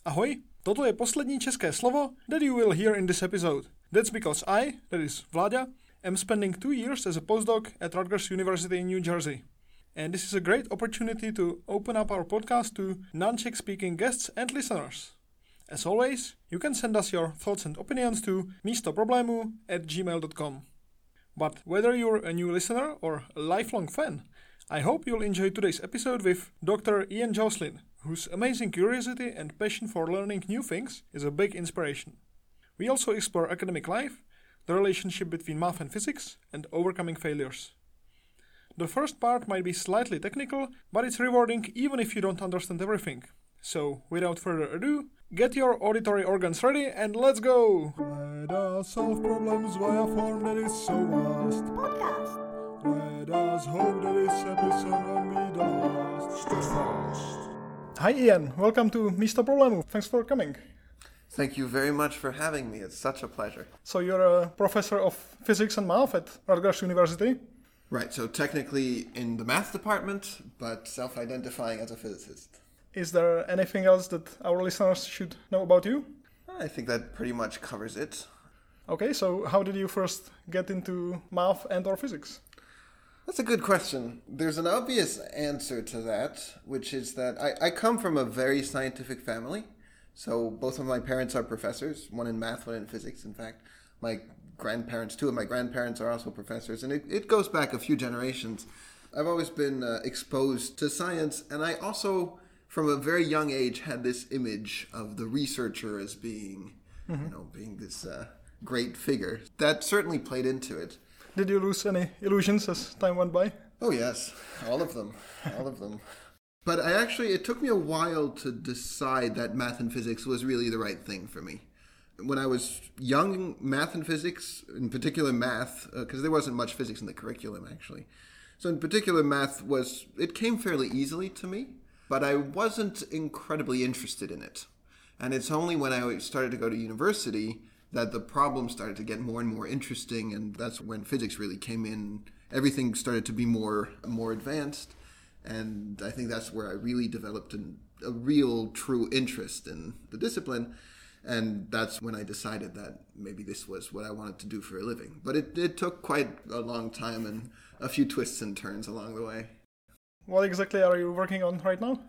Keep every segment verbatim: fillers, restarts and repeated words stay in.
Ahoj, toto je poslední české slovo that you will hear in this episode. That's because I, that is Vláďa, am spending two years as a postdoc at Rutgers University in New Jersey. And this is a great opportunity to open up our podcast to non-Czech speaking guests and listeners. As always, you can send us your thoughts and opinions to místoproblému at gmail dot com. But whether you're a new listener or a lifelong fan, I hope you'll enjoy today's episode with Doctor Ian Joslin, whose amazing curiosity and passion for learning new things is a big inspiration. We also explore academic life, the relationship between math and physics, and overcoming failures. The first part might be slightly technical, but it's rewarding even if you don't understand everything. So, without further ado, get your auditory organs ready and let's go! Let us solve problems via form that is so vast. Podcast. Let us hope that this episode won't be the last. Hi Ian, welcome to Místo problému. Thanks for coming. Thank you very much for having me. It's such a pleasure. So you're a professor of physics and math at Rutgers University? Right, so technically in the math department, but self-identifying as a physicist. Is there anything else that our listeners should know about you? I think that pretty much covers it. Okay, so how did you first get into math and or physics? That's a good question. There's an obvious answer to that, which is that I, I come from a very scientific family. So both of my parents are professors, one in math, one in physics. In fact, my grandparents, two of my grandparents are also professors, and it, it goes back a few generations. I've always been uh, exposed to science, and I also, from a very young age, had this image of the researcher as being, mm-hmm. you know, being this uh, great figure. That certainly played into it. Did you lose any illusions as time went by? Oh yes, all of them, all of them. But I actually, it took me a while to decide that math and physics was really the right thing for me. When I was young, math and physics, in particular math, because uh, there wasn't much physics in the curriculum actually. So in particular math was, it came fairly easily to me, but I wasn't incredibly interested in it. And it's only when I started to go to university that the problems started to get more and more interesting, and that's when physics really came in. Everything started to be more more advanced, and I think that's where I really developed an, a real true interest in the discipline, and that's when I decided that maybe this was what I wanted to do for a living. But it, it took quite a long time and a few twists and turns along the way. What exactly are you working on right now?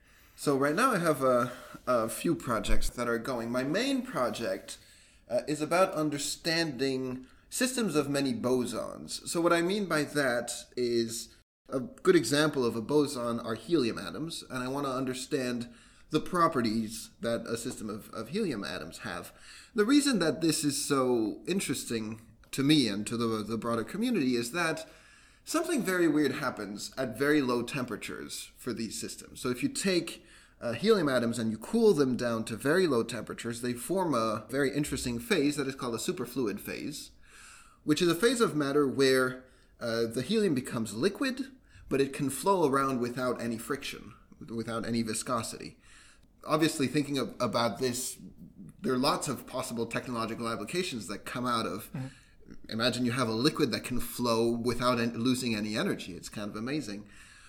So right now I have a, a few projects that are going. My main project Uh, is about understanding systems of many bosons. So what I mean by that is a good example of a boson are helium atoms, and I want to understand the properties that a system of, of helium atoms have. The reason that this is so interesting to me and to the, the broader community is that something very weird happens at very low temperatures for these systems. So if you take Uh, helium atoms and you cool them down to very low temperatures, they form a very interesting phase that is called a superfluid phase, which is a phase of matter where uh, the helium becomes liquid, but it can flow around without any friction, without any viscosity. Obviously, thinking of, about this, there are lots of possible technological applications that come out of, mm-hmm. Imagine you have a liquid that can flow without en- losing any energy. It's kind of amazing.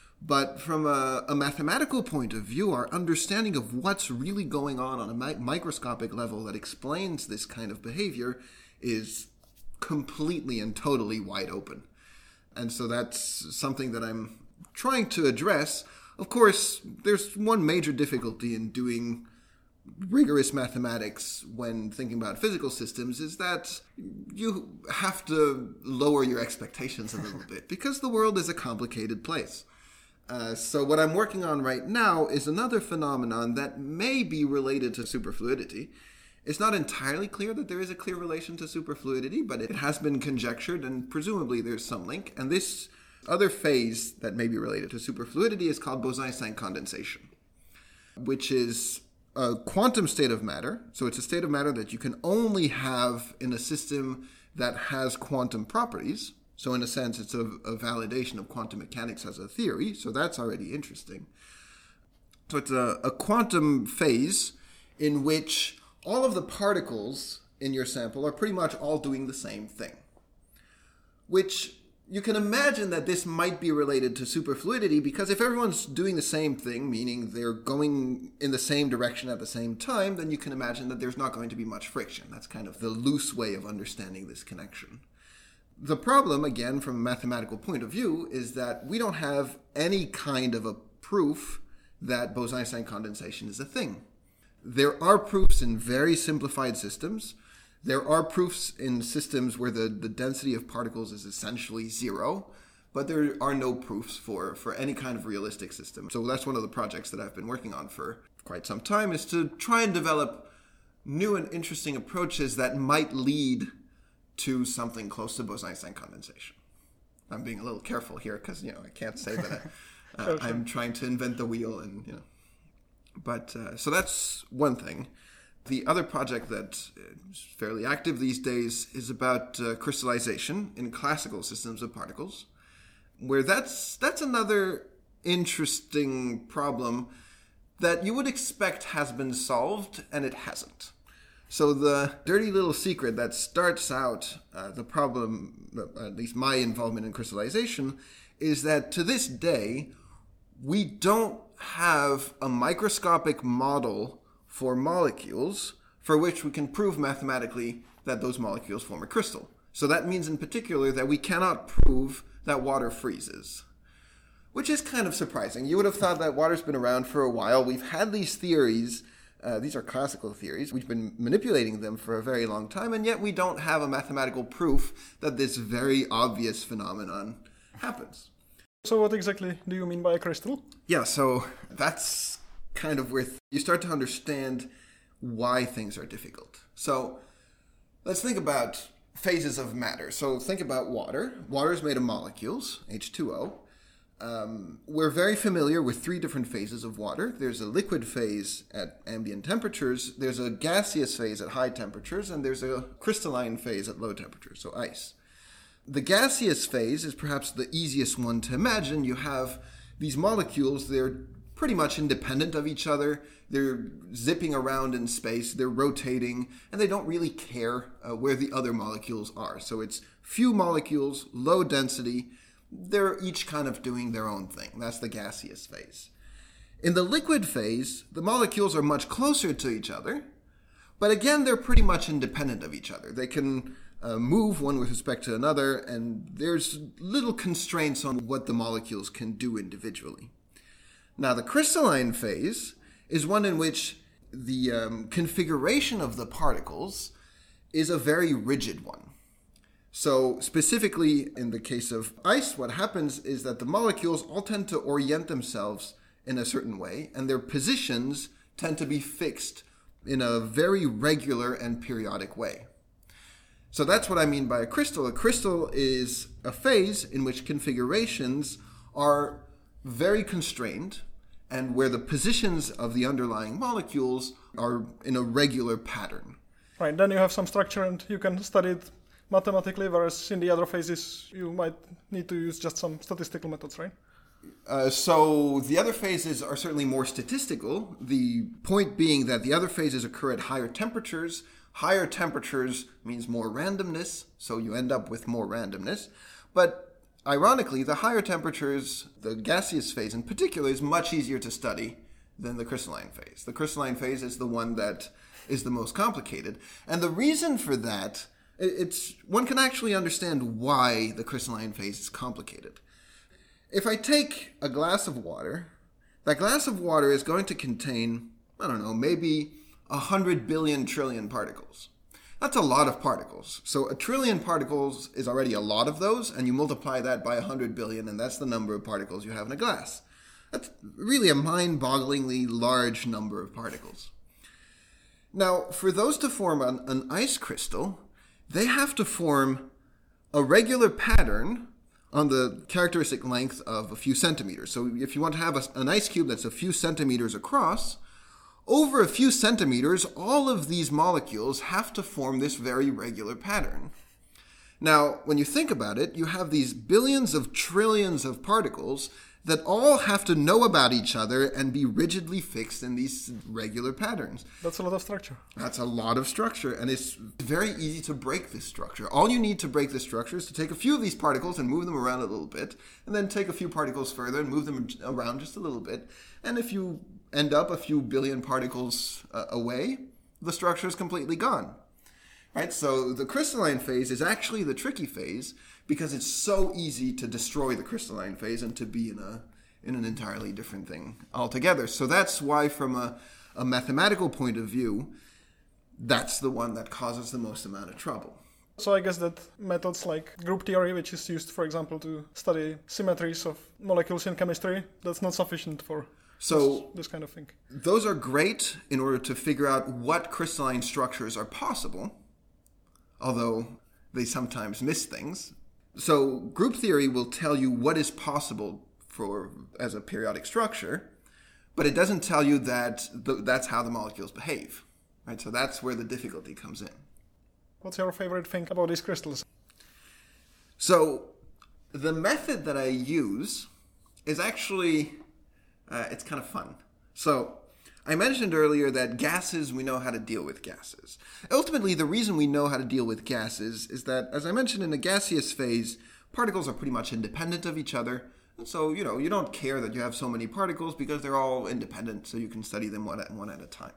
But from a, a mathematical point of view, our understanding of what's really going on on a mi- microscopic level that explains this kind of behavior is completely and totally wide open. And so that's something that I'm trying to address. Of course, there's one major difficulty in doing rigorous mathematics when thinking about physical systems is that you have to lower your expectations a little bit because the world is a complicated place. Uh, so what I'm working on right now is another phenomenon that may be related to superfluidity. It's not entirely clear that there is a clear relation to superfluidity, but it has been conjectured, and presumably there's some link. And this other phase that may be related to superfluidity is called Bose-Einstein condensation, which is a quantum state of matter. So it's a state of matter that you can only have in a system that has quantum properties. So in a sense, it's a, a validation of quantum mechanics as a theory. So that's already interesting. So it's a, a quantum phase in which all of the particles in your sample are pretty much all doing the same thing, which you can imagine that this might be related to superfluidity, because if everyone's doing the same thing, meaning they're going in the same direction at the same time, then you can imagine that there's not going to be much friction. That's kind of the loose way of understanding this connection. The problem, again, from a mathematical point of view, is that we don't have any kind of a proof that Bose-Einstein condensation is a thing. There are proofs in very simplified systems. There are proofs in systems where the, the density of particles is essentially zero, but there are no proofs for, for any kind of realistic system. So that's one of the projects that I've been working on for quite some time, is to try and develop new and interesting approaches that might lead to something close to Bose-Einstein condensation. I'm being a little careful here because, you know, I can't say that I, uh, sure, sure. I'm trying to invent the wheel, and, you know. But, uh, so that's one thing. The other project that is fairly active these days is about uh, crystallization in classical systems of particles, where that's that's another interesting problem that you would expect has been solved, and it hasn't. So the dirty little secret that starts out uh, the problem, at least my involvement in crystallization, is that to this day, we don't have a microscopic model for molecules for which we can prove mathematically that those molecules form a crystal. So that means in particular that we cannot prove that water freezes, which is kind of surprising. You would have thought that water's been around for a while. We've had these theories. Uh, these are classical theories. We've been manipulating them for a very long time, and yet we don't have a mathematical proof that this very obvious phenomenon happens. So what exactly do you mean by a crystal? Yeah, so that's kind of where you start to understand why things are difficult. So let's think about phases of matter. So think about water. Water is made of molecules, H two O. Um, we're very familiar with three different phases of water. There's a liquid phase at ambient temperatures, there's a gaseous phase at high temperatures, and there's a crystalline phase at low temperatures, so ice. The gaseous phase is perhaps the easiest one to imagine. You have these molecules, they're pretty much independent of each other. They're zipping around in space, they're rotating, and they don't really care uh, where the other molecules are. So it's few molecules, low density. They're each kind of doing their own thing. That's the gaseous phase. In the liquid phase, the molecules are much closer to each other, but again, they're pretty much independent of each other. They can uh, move one with respect to another, and there's little constraints on what the molecules can do individually. Now, the crystalline phase is one in which the um, configuration of the particles is a very rigid one. So specifically in the case of ice, what happens is that the molecules all tend to orient themselves in a certain way, and their positions tend to be fixed in a very regular and periodic way. So that's what I mean by a crystal. A crystal is a phase in which configurations are very constrained and where the positions of the underlying molecules are in a regular pattern. Right, then you have some structure and you can study it mathematically, whereas in the other phases you might need to use just some statistical methods, right? Uh, so the other phases are certainly more statistical, the point being that the other phases occur at higher temperatures. Higher temperatures means more randomness, so you end up with more randomness. But ironically, the higher temperatures, the gaseous phase in particular, is much easier to study than the crystalline phase. The crystalline phase is the one that is the most complicated. And the reason for that, it's one can actually understand why the crystalline phase is complicated. If I take a glass of water, that glass of water is going to contain, I don't know, maybe a hundred billion trillion particles. That's a lot of particles. So a trillion particles is already a lot of those, and you multiply that by a hundred billion, and that's the number of particles you have in a glass. That's really a mind-bogglingly large number of particles. Now, for those to form an, an ice crystal, they have to form a regular pattern on the characteristic length of a few centimeters. So if you want to have a, an ice cube that's a few centimeters across, over a few centimeters, all of these molecules have to form this very regular pattern. Now, when you think about it, you have these billions of trillions of particles that all have to know about each other and be rigidly fixed in these regular patterns. That's a lot of structure. That's a lot of structure, and it's very easy to break this structure. All you need to break this structure is to take a few of these particles and move them around a little bit, and then take a few particles further and move them around just a little bit. And if you end up a few billion particles uh, away, the structure is completely gone. Right? So the crystalline phase is actually the tricky phase, because it's so easy to destroy the crystalline phase and to be in a in an entirely different thing altogether. So that's why, from a, a mathematical point of view, that's the one that causes the most amount of trouble. So I guess that methods like group theory, which is used, for example, to study symmetries of molecules in chemistry, that's not sufficient for so this, this kind of thing. Those are great in order to figure out what crystalline structures are possible, although they sometimes miss things. So group theory will tell you what is possible for as a periodic structure, but it doesn't tell you that th- that's how the molecules behave. Right? So that's where the difficulty comes in. What's your favorite thing about these crystals? So the method that I use is actually, uh, it's kind of fun. So I mentioned earlier that gases, we know how to deal with gases. Ultimately, the reason we know how to deal with gases is that, as I mentioned, in the gaseous phase, particles are pretty much independent of each other. And so, you know, you don't care that you have so many particles because they're all independent, so you can study them one at, one at a time.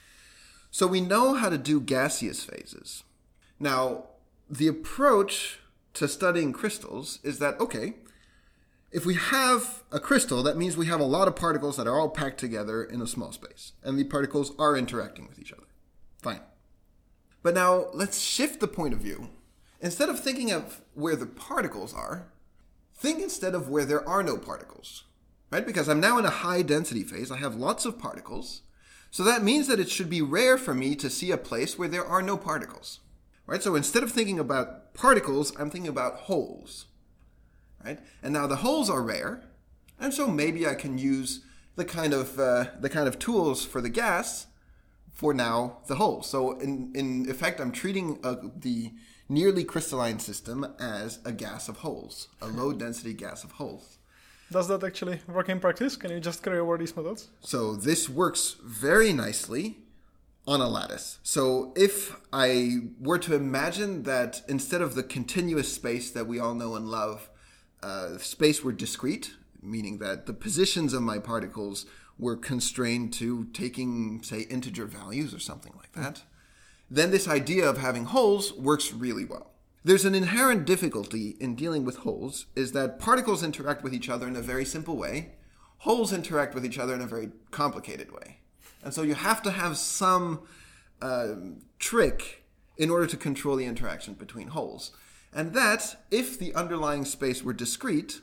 So we know how to do gaseous phases. Now, the approach to studying crystals is that, okay, if we have a crystal, that means we have a lot of particles that are all packed together in a small space. And the particles are interacting with each other. Fine. But now let's shift the point of view. Instead of thinking of where the particles are, think instead of where there are no particles. Right? Because I'm now in a high density phase. I have lots of particles. So that means that it should be rare for me to see a place where there are no particles. Right? So instead of thinking about particles, I'm thinking about holes. Right? And now the holes are rare, and so maybe I can use the kind of uh, the kind of tools for the gas for now the holes. So in, in effect, I'm treating uh, the nearly crystalline system as a gas of holes, a low-density gas of holes. Does that actually work in practice? Can you just carry over these methods? So this works very nicely on a lattice. So if I were to imagine that instead of the continuous space that we all know and love, Uh, space were discrete, meaning that the positions of my particles were constrained to taking, say, integer values or something like that, mm. then this idea of having holes works really well. There's an inherent difficulty in dealing with holes, is that particles interact with each other in a very simple way. Holes interact with each other in a very complicated way. And so you have to have some uh, trick in order to control the interaction between holes. And that, if the underlying space were discrete,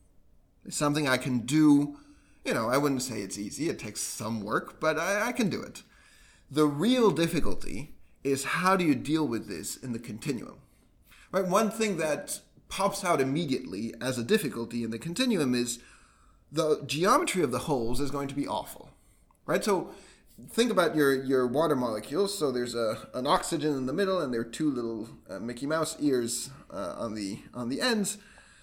is something I can do. You know, I wouldn't say it's easy. It takes some work, but I, I can do it. The real difficulty is how do you deal with this in the continuum? Right? One thing that pops out immediately as a difficulty in the continuum is the geometry of the holes is going to be awful. Right? So think about your, your water molecules. So there's a an oxygen in the middle, and there are two little uh, Mickey Mouse ears uh, on the on the ends.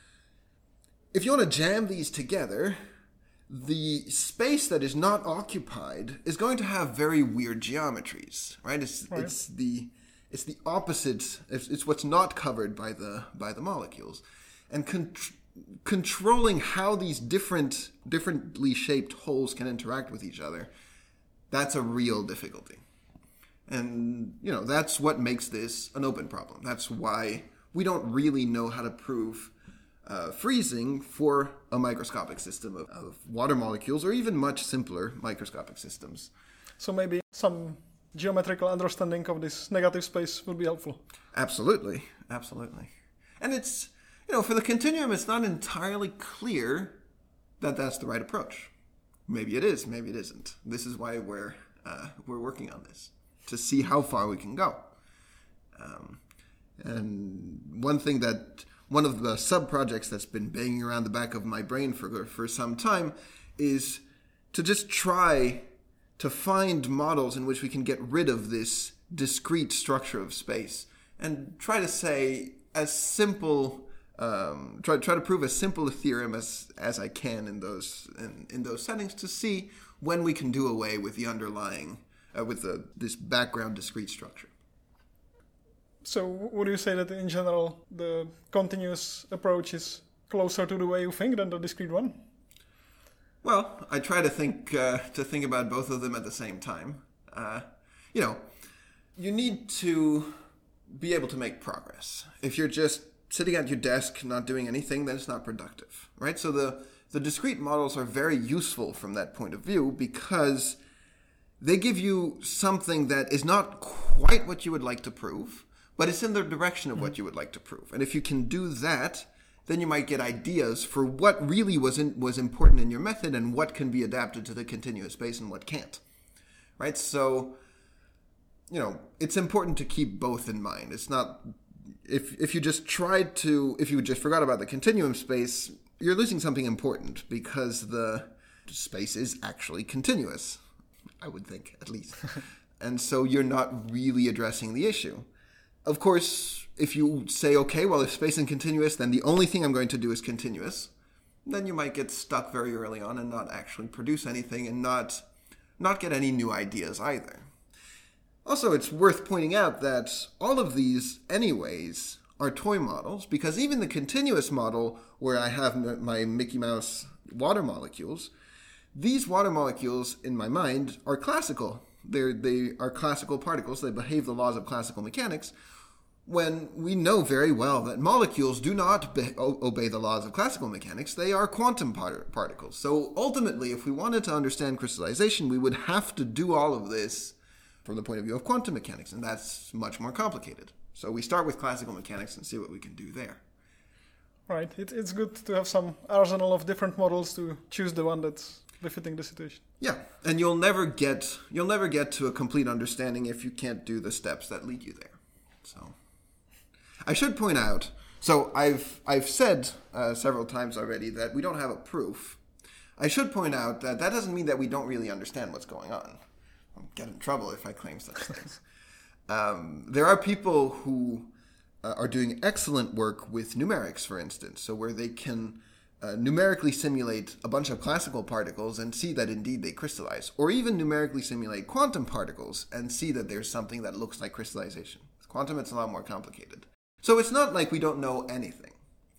If you want to jam these together, the space that is not occupied is going to have very weird geometries. Right? It's right. it's the it's the opposite. It's, it's what's not covered by the by the molecules, and con- controlling how these different differently shaped holes can interact with each other. That's a real difficulty. And, you know, that's what makes this an open problem. That's why we don't really know how to prove uh, freezing for a microscopic system of, of water molecules, or even much simpler microscopic systems. So maybe some geometrical understanding of this negative space would be helpful. Absolutely. Absolutely. And it's, you know, for the continuum, it's not entirely clear that that's the right approach. Maybe it is, maybe it isn't. This is why we're uh, we're working on this, to see how far we can go. Um, and one thing that, one of the sub-projects that's been banging around the back of my brain for for some time is to just try to find models in which we can get rid of this discrete structure of space and try to say, as simple um, try try to prove as simple a theorem as as I can in those in, in those settings to see when we can do away with the underlying uh, with the this background discrete structure. So would you say that in general the continuous approach is closer to the way you think than the discrete one? Well, I try to think uh, to think about both of them at the same time. Uh, you know, you need to be able to make progress. If you're just sitting at your desk not doing anything, then it's not productive, right? So the, the discrete models are very useful from that point of view because they give you something that is not quite what you would like to prove, but it's in the direction of what you would like to prove. And if you can do that, then you might get ideas for what really was in, was important in your method and what can be adapted to the continuous space and what can't, right? So, you know, it's important to keep both in mind. It's not, if if you just tried to, if you just forgot about the continuum space, you're losing something important because the space is actually continuous, I would think, at least. And so you're not really addressing the issue. Of course, if you say, okay, well, if space is continuous, then the only thing I'm going to do is continuous, then you might get stuck very early on and not actually produce anything and not not get any new ideas either. Also, it's worth pointing out that all of these, anyways, are toy models, because even the continuous model, where I have my Mickey Mouse water molecules, these water molecules, in my mind, are classical. They're, they are classical particles. They behave the laws of classical mechanics, when we know very well that molecules do not be- obey the laws of classical mechanics. They are quantum par- particles. So ultimately, if we wanted to understand crystallization, we would have to do all of this from the point of view of quantum mechanics, and that's much more complicated. So we start with classical mechanics and see what we can do there. Right. It, it's good to have some arsenal of different models to choose the one that's befitting the situation. Yeah, and you'll never get you'll never get to a complete understanding if you can't do the steps that lead you there. So I should point out, so I've I've said uh, several times already that we don't have a proof. I should point out that that doesn't mean that we don't really understand what's going on. I'll get in trouble if I claim such things. Um, there are people who uh, are doing excellent work with numerics, for instance, so where they can uh, numerically simulate a bunch of classical particles and see that indeed they crystallize, or even numerically simulate quantum particles and see that there's something that looks like crystallization. With quantum, it's a lot more complicated. So it's not like we don't know anything.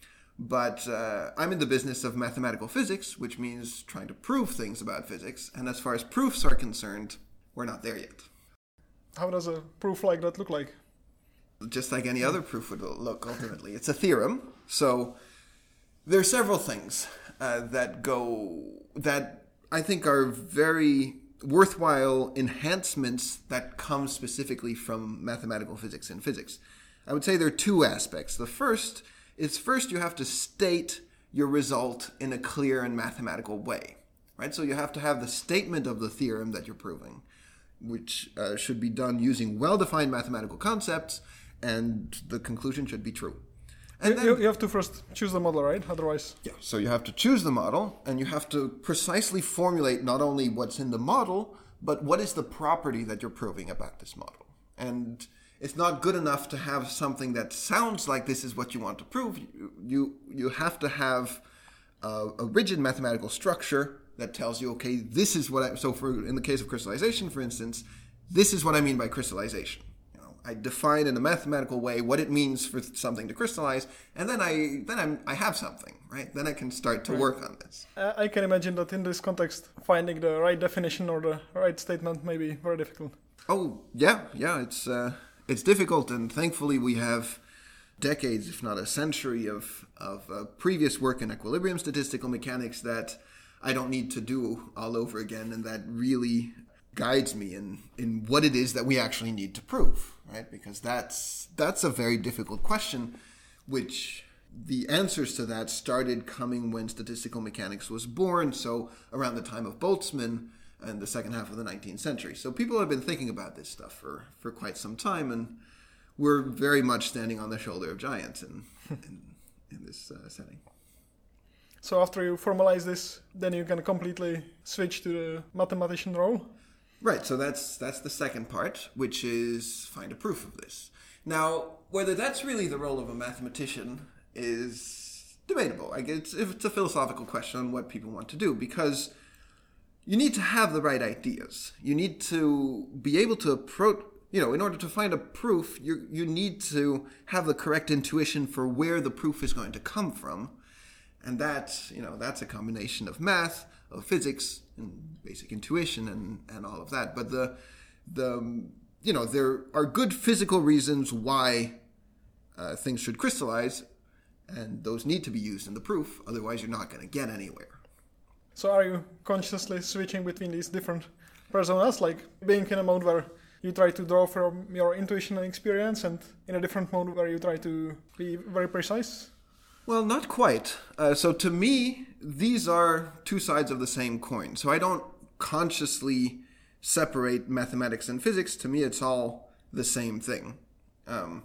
But uh, I'm in the business of mathematical physics, which means trying to prove things about physics, and as far as proofs are concerned, we're not there yet. How does a proof like that look like? Just like any other proof would look, ultimately. It's a theorem. So there are several things uh, that go, that I think are very worthwhile enhancements that come specifically from mathematical physics and physics. I would say there are two aspects. The first is first you have to state your result in a clear and mathematical way, right? So you have to have the statement of the theorem that you're proving, which uh, should be done using well-defined mathematical concepts, and the conclusion should be true. And you, then, you have to first choose the model, right? Otherwise... Yeah, so you have to choose the model, and you have to precisely formulate not only what's in the model, but what is the property that you're proving about this model. And it's not good enough to have something that sounds like this is what you want to prove. You you, you have to have a, a rigid mathematical structure that tells you, okay, this is what I... So for in the case of crystallization, for instance, this is what I mean by crystallization. You know, I define in a mathematical way what it means for something to crystallize, and then I then I'm, I have something, right? Then I can start to right. work on this. Uh, I can imagine that in this context, finding the right definition or the right statement may be very difficult. Oh, yeah, yeah, it's... Uh, It's difficult, and thankfully we have decades, if not a century, of, of uh, previous work in equilibrium statistical mechanics that I don't need to do all over again, and that really guides me in, in what it is that we actually need to prove, right? Because that's that's a very difficult question, which the answers to that started coming when statistical mechanics was born, so around the time of Boltzmann, in the second half of the nineteenth century. So people have been thinking about this stuff for, for quite some time, and we're very much standing on the shoulder of giants in in, in this uh, setting. So after you formalize this, then you can completely switch to the mathematician role? Right, so that's that's the second part, which is find a proof of this. Now, whether that's really the role of a mathematician is debatable. Like it's, it's a philosophical question on what people want to do, because you need to have the right ideas. You need to be able to approach, you know, in order to find a proof, you you need to have the correct intuition for where the proof is going to come from. And that, you know, that's a combination of math, of physics, and basic intuition, and, and all of that. But the, the, you know, there are good physical reasons why uh, things should crystallize, and those need to be used in the proof. Otherwise, you're not going to get anywhere. So are you consciously switching between these different personas, like being in a mode where you try to draw from your intuition and experience, and in a different mode where you try to be very precise? Well, not quite. Uh, so to me, these are two sides of the same coin. So I don't consciously separate mathematics and physics. To me, it's all the same thing. Um,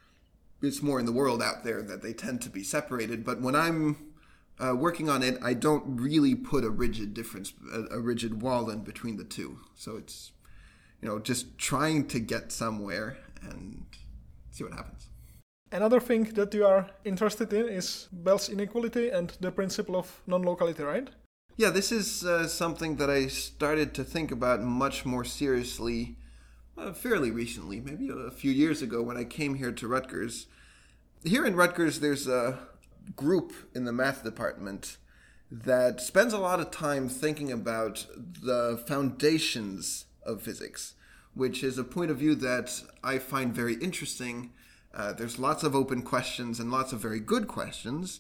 it's more in the world out there that they tend to be separated. But when I'm uh, working on it, I don't really put a rigid difference, a, a rigid wall in between the two. So it's, you know, just trying to get somewhere and see what happens. Another thing that you are interested in is Bell's inequality and the principle of non-locality, right? Yeah, this is uh, something that I started to think about much more seriously uh, fairly recently, maybe a few years ago when I came here to Rutgers. Here in Rutgers, there's a group in the math department that spends a lot of time thinking about the foundations of physics, which is a point of view that I find very interesting. Uh, there's lots of open questions and lots of very good questions,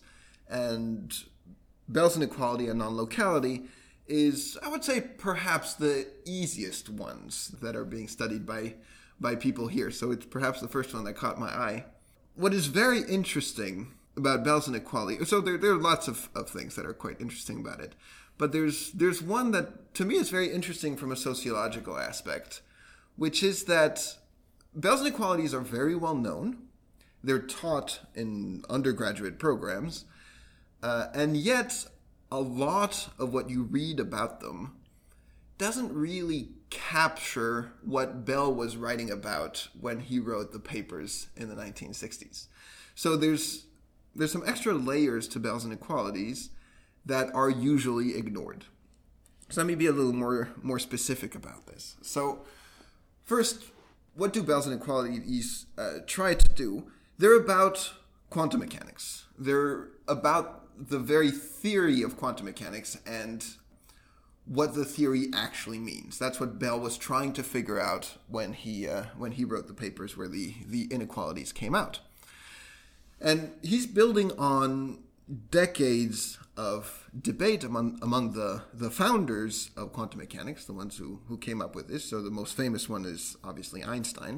and Bell's inequality and non-locality is, I would say, perhaps the easiest ones that are being studied by by people here. So it's perhaps the first one that caught my eye. What is very interesting about Bell's inequality, so there, there are lots of, of things that are quite interesting about it, but there's there's one that to me is very interesting from a sociological aspect, which is that Bell's inequalities are very well known. They're taught in undergraduate programs, uh, and yet a lot of what you read about them doesn't really capture what Bell was writing about when he wrote the papers in the nineteen sixties. So there's there's some extra layers to Bell's inequalities that are usually ignored. So let me be a little more, more specific about this. So first, what do Bell's inequalities uh, try to do? They're about quantum mechanics. They're about the very theory of quantum mechanics and what the theory actually means. That's what Bell was trying to figure out when he uh, when he wrote the papers where the, the inequalities came out. And he's building on decades of debate among among the, the founders of quantum mechanics, the ones who, who came up with this. So the most famous one is obviously Einstein.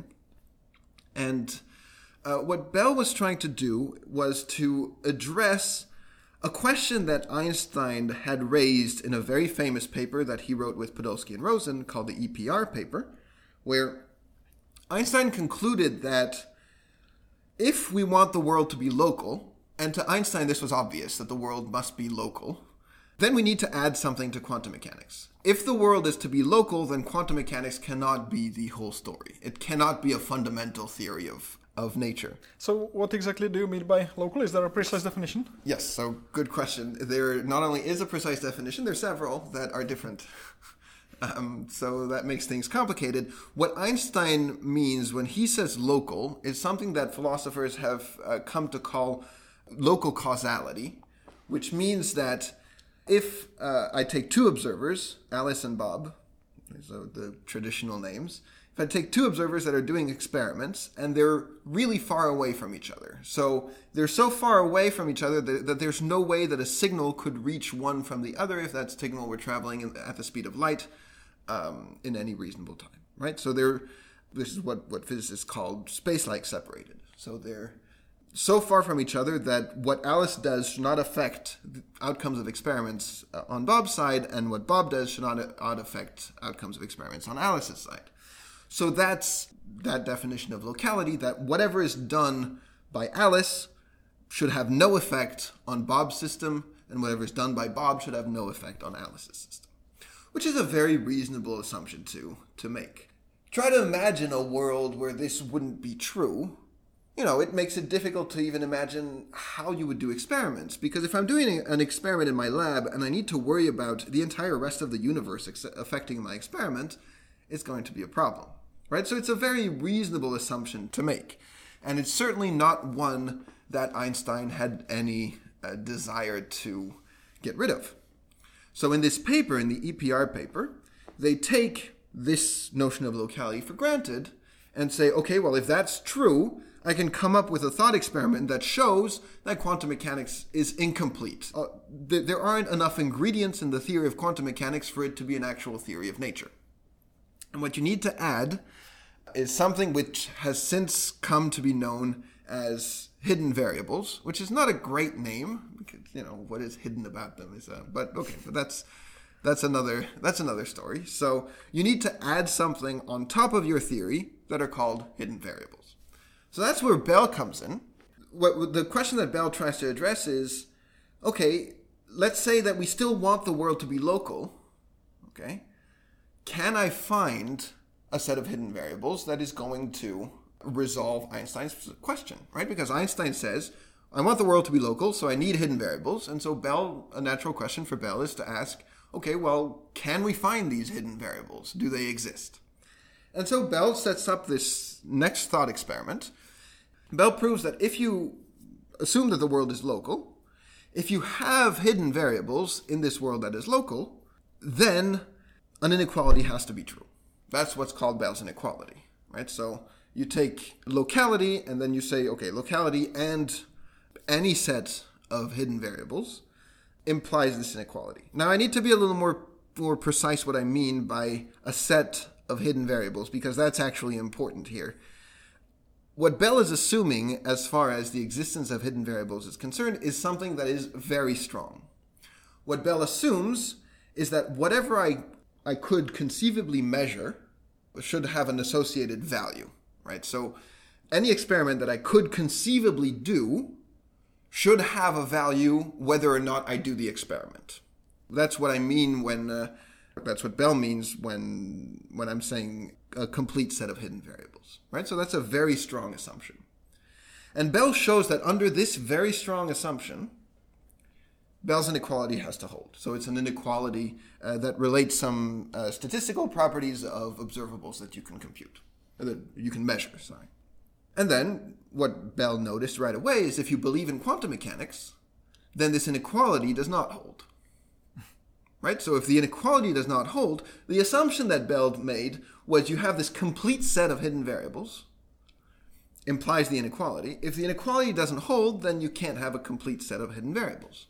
And uh, what Bell was trying to do was to address a question that Einstein had raised in a very famous paper that he wrote with Podolsky and Rosen called the E P R paper, where Einstein concluded that if we want the world to be local, and to Einstein this was obvious that the world must be local, then we need to add something to quantum mechanics. If the world is to be local, then quantum mechanics cannot be the whole story. It cannot be a fundamental theory of, of nature. So what exactly do you mean by local? Is there a precise definition? Yes, so good question. There not only is a precise definition, there are several that are different. Um, so that makes things complicated. What Einstein means when he says local is something that philosophers have uh, come to call local causality, which means that if uh, I take two observers, Alice and Bob, these are the traditional names, if I take two observers that are doing experiments and they're really far away from each other, so they're so far away from each other that, that there's no way that a signal could reach one from the other if that signal were traveling in, at the speed of light um, in any reasonable time, right? So they're, this is what, what physicists call space-like separated. So they're so far from each other that what Alice does should not affect the outcomes of experiments uh, on Bob's side, and what Bob does should not, not affect outcomes of experiments on Alice's side. So that's that definition of locality, that whatever is done by Alice should have no effect on Bob's system, and whatever is done by Bob should have no effect on Alice's system, which is a very reasonable assumption to, to make. Try to imagine a world where this wouldn't be true, you know, it makes it difficult to even imagine how you would do experiments. Because if I'm doing an experiment in my lab and I need to worry about the entire rest of the universe ex- affecting my experiment, it's going to be a problem, right? So it's a very reasonable assumption to make. And it's certainly not one that Einstein had any uh, desire to get rid of. So in this paper, in the E P R paper, they take this notion of locality for granted and say, okay, well, if that's true, I can come up with a thought experiment that shows that quantum mechanics is incomplete. Uh, th- there aren't enough ingredients in the theory of quantum mechanics for it to be an actual theory of nature. And what you need to add is something which has since come to be known as hidden variables, which is not a great name because, you know, what is hidden about them is, uh, but okay, but that's that's another that's another story. So you need to add something on top of your theory that are called hidden variables. So that's where Bell comes in. What the question that Bell tries to address is, okay, let's say that we still want the world to be local. Okay, can I find a set of hidden variables that is going to resolve Einstein's question, right? Because Einstein says, I want the world to be local, so I need hidden variables. And so Bell, a natural question for Bell is to ask, okay, well, can we find these hidden variables? Do they exist? And so Bell sets up this next thought experiment. Bell proves that if you assume that the world is local, if you have hidden variables in this world that is local, then an inequality has to be true. That's what's called Bell's inequality, right? So you take locality and then you say, okay, locality and any set of hidden variables implies this inequality. Now, I need to be a little more, more precise what I mean by a set of hidden variables, because that's actually important here. What Bell is assuming as far as the existence of hidden variables is concerned is something that is very strong. What Bell assumes is that whatever I, I could conceivably measure should have an associated value, right? So any experiment that I could conceivably do should have a value whether or not I do the experiment. That's what I mean when, uh, that's what Bell means when when I'm saying a complete set of hidden variables, right? So that's a very strong assumption. And Bell shows that under this very strong assumption, Bell's inequality has to hold. So it's an inequality uh, that relates some uh, statistical properties of observables that you can compute, that you can measure, sorry. And then what Bell noticed right away is if you believe in quantum mechanics, then this inequality does not hold. Right? So if the inequality does not hold, the assumption that Bell made was you have this complete set of hidden variables, implies the inequality. If the inequality doesn't hold, then you can't have a complete set of hidden variables.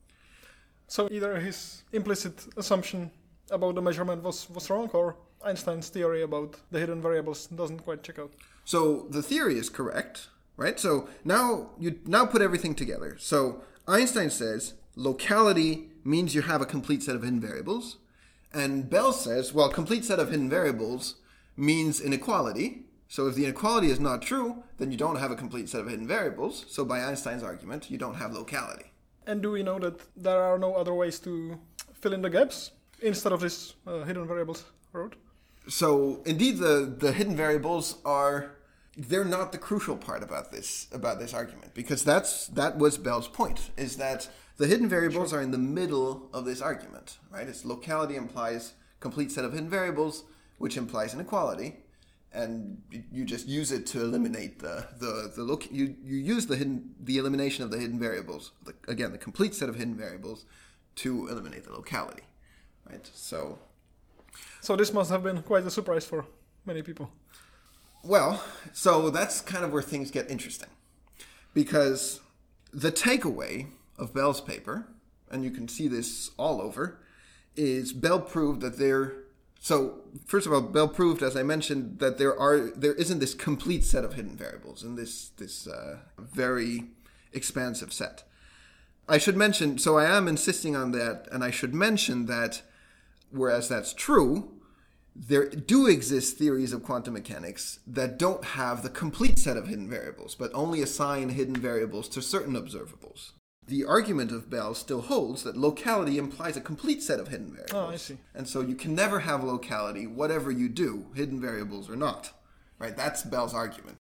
So either his implicit assumption about the measurement was, was wrong, or Einstein's theory about the hidden variables doesn't quite check out. So the theory is correct, right? So now you now put everything together. So Einstein says locality means you have a complete set of hidden variables. And Bell says, well, complete set of hidden variables means inequality. So if the inequality is not true, then you don't have a complete set of hidden variables. So by Einstein's argument, you don't have locality. And do we know that there are no other ways to fill in the gaps instead of this uh, hidden variables road? So indeed, the, the hidden variables are, they're not the crucial part about this about this argument, because that's that was Bell's point, is that the hidden variables sure. are in the middle of this argument, right? It's locality implies complete set of hidden variables, which implies inequality, and you just use it to eliminate the the the look. You you use the hidden the elimination of the hidden variables, the, again the complete set of hidden variables, to eliminate the locality, right? So. So this must have been quite a surprise for many people. Well, so that's kind of where things get interesting. Because the takeaway of Bell's paper, and you can see this all over, is Bell proved that there... So, first of all, Bell proved, as I mentioned, that there are there isn't this complete set of hidden variables in this, this uh, very expansive set. I should mention, so I am insisting on that, and I should mention that whereas that's true, there do exist theories of quantum mechanics that don't have the complete set of hidden variables, but only assign hidden variables to certain observables. The argument of Bell still holds that locality implies a complete set of hidden variables. Oh, I see. And so you can never have locality, whatever you do, hidden variables or not. Right? That's Bell's argument.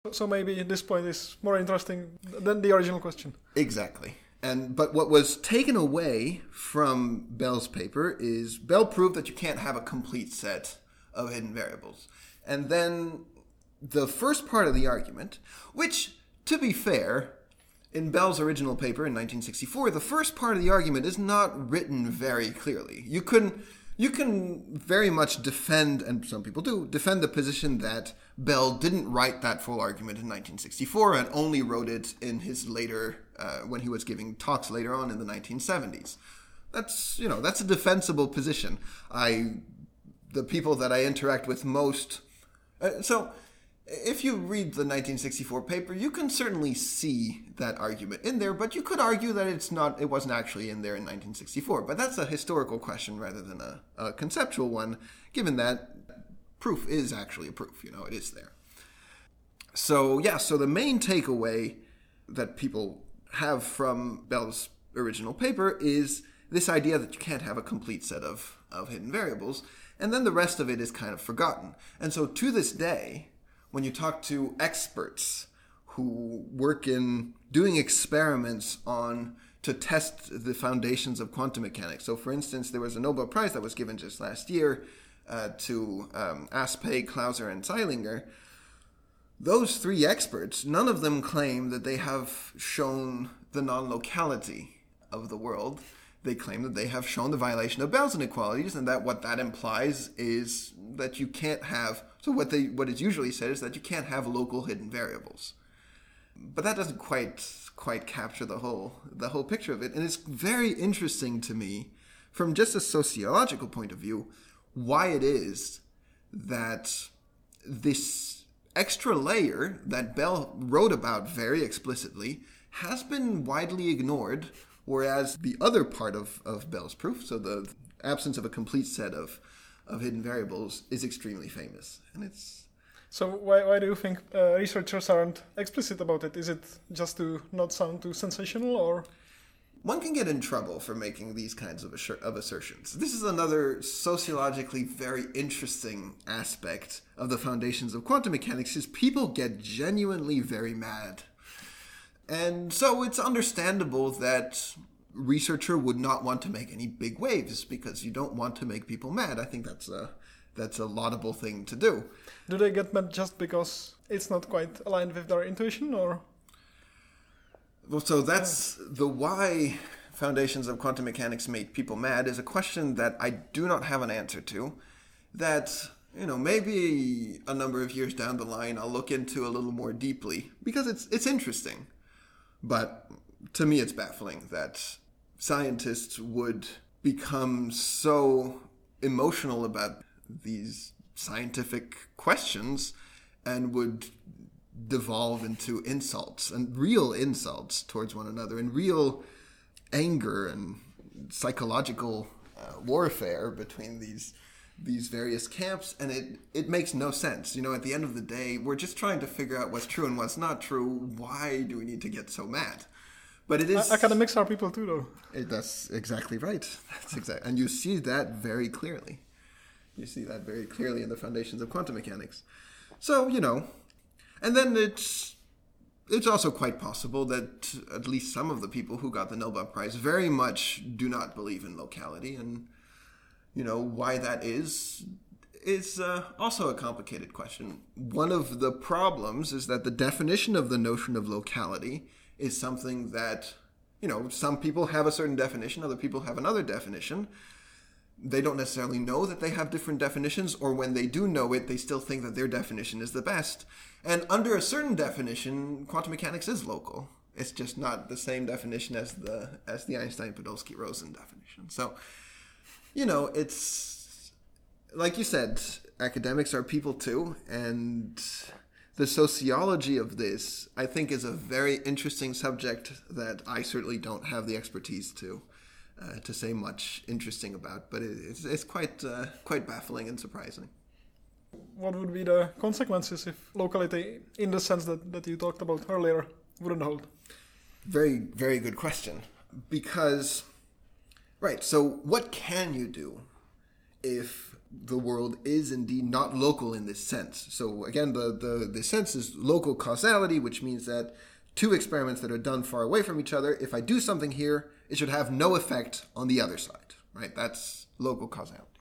So maybe this point is more interesting than the original question. Exactly. And but what was taken away from Bell's paper is Bell proved that you can't have a complete set of hidden variables. And then the first part of the argument, which, to be fair, in Bell's original paper in nineteen sixty-four, the first part of the argument is not written very clearly. You can you can very much defend, and some people do, defend the position that Bell didn't write that full argument in nineteen sixty-four and only wrote it in his later, uh, when he was giving talks later on in the nineteen seventies. That's, you know, that's a defensible position. I, the people that I interact with most, uh, so if you read the nineteen sixty-four paper, you can certainly see that argument in there, but you could argue that it's not, it wasn't actually in there in nineteen sixty-four. But that's a historical question rather than a, a conceptual one, given that proof is actually a proof, you know, it is there. So, yeah, so the main takeaway that people have from Bell's original paper is this idea that you can't have a complete set of, of hidden variables, and then the rest of it is kind of forgotten. And so to this day, when you talk to experts who work in doing experiments on to test the foundations of quantum mechanics. So, for instance, there was a Nobel Prize that was given just last year uh, to um, Aspey, Clauser, and Zeilinger. Those three experts, none of them claim that they have shown the non-locality of the world. They claim that they have shown the violation of Bell's inequalities, and that what that implies is that you can't have, so what they what is usually said is that you can't have local hidden variables. But that doesn't quite quite capture the whole the whole picture of it. And it's very interesting to me, from just a sociological point of view, why it is that this extra layer that Bell wrote about very explicitly has been widely ignored, whereas the other part of, of Bell's proof, so the absence of a complete set of, of hidden variables, is extremely famous. And it's... So why why do you think uh, researchers aren't explicit about it? Is it just to not sound too sensational, or...? One can get in trouble for making these kinds of, assur- of assertions. This is another sociologically very interesting aspect of the foundations of quantum mechanics, is people get genuinely very mad. And so it's understandable that researcher would not want to make any big waves, because you don't want to make people mad. I think that's a that's a laudable thing to do. Do they get mad just because it's not quite aligned with their intuition, or? Well, so that's yeah. the why foundations of quantum mechanics made people mad is a question that I do not have an answer to. That, you know, maybe a number of years down the line I'll look into a little more deeply, because it's it's interesting. But to me, it's baffling that scientists would become so emotional about these scientific questions and would devolve into insults, and real insults towards one another, and real anger and psychological uh, warfare between these these various camps, and it, it makes no sense. You know, at the end of the day, we're just trying to figure out what's true and what's not true. Why do we need to get so mad? But it is... Academics are people too, though. It, that's exactly right. That's exactly, and you see that very clearly. You see that very clearly in the foundations of quantum mechanics. So, you know, and then it's it's also quite possible that at least some of the people who got the Nobel Prize very much do not believe in locality, and you know, why that is, is uh, also a complicated question. One of the problems is that the definition of the notion of locality is something that, you know, some people have a certain definition, other people have another definition. They don't necessarily know that they have different definitions, or when they do know it, they still think that their definition is the best. And under a certain definition, quantum mechanics is local. It's just not the same definition as the as the Einstein-Podolsky-Rosen definition. So, you know, it's, like you said, academics are people too, and the sociology of this, I think, is a very interesting subject that I certainly don't have the expertise to uh, to say much interesting about, but it, it's, it's quite uh, quite baffling and surprising. What would be the consequences if locality, in the sense that, that you talked about earlier, wouldn't hold? Very, very good question. Because... Right, so what can you do if the world is indeed not local in this sense. So again, the, the, the sense is local causality, which means that two experiments that are done far away from each other, if I do something here, it should have no effect on the other side, right? That's local causality.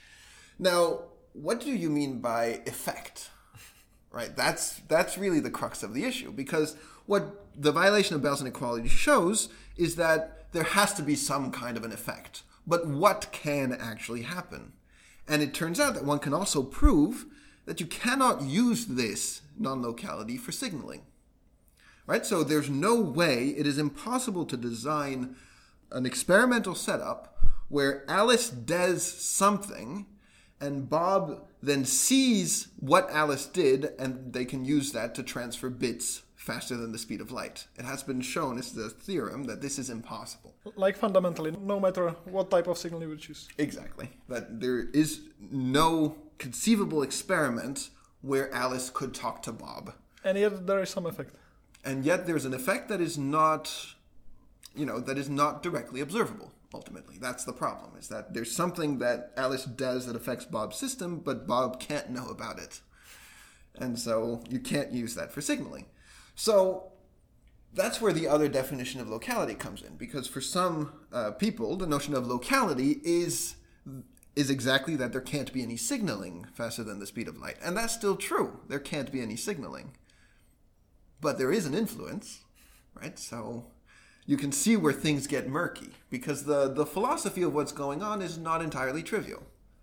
Now, what do you mean by effect? Right? That's that's really the crux of the issue, because what the violation of Bell's inequality shows is that there has to be some kind of an effect. But what can actually happen? And it turns out that one can also prove that you cannot use this non-locality for signaling. Right? So there's no way, it is impossible to design an experimental setup where Alice does something and Bob then sees what Alice did, and they can use that to transfer bits faster than the speed of light. It has been shown, it's the theorem, that this is impossible. Like fundamentally, no matter what type of signal you would choose. Exactly. That there is no conceivable experiment where Alice could talk to Bob. And yet there is some effect. And yet there's an effect that is not, you know, that is not directly observable. Ultimately, that's the problem, is that there's something that Alice does that affects Bob's system, but Bob can't know about it. And so you can't use that for signaling. So that's where the other definition of locality comes in, because for some uh, people, the notion of locality is is exactly that there can't be any signaling faster than the speed of light. And that's still true. There can't be any signaling. But there is an influence, right? So you can see where things get murky, because the, the philosophy of what's going on is not entirely trivial.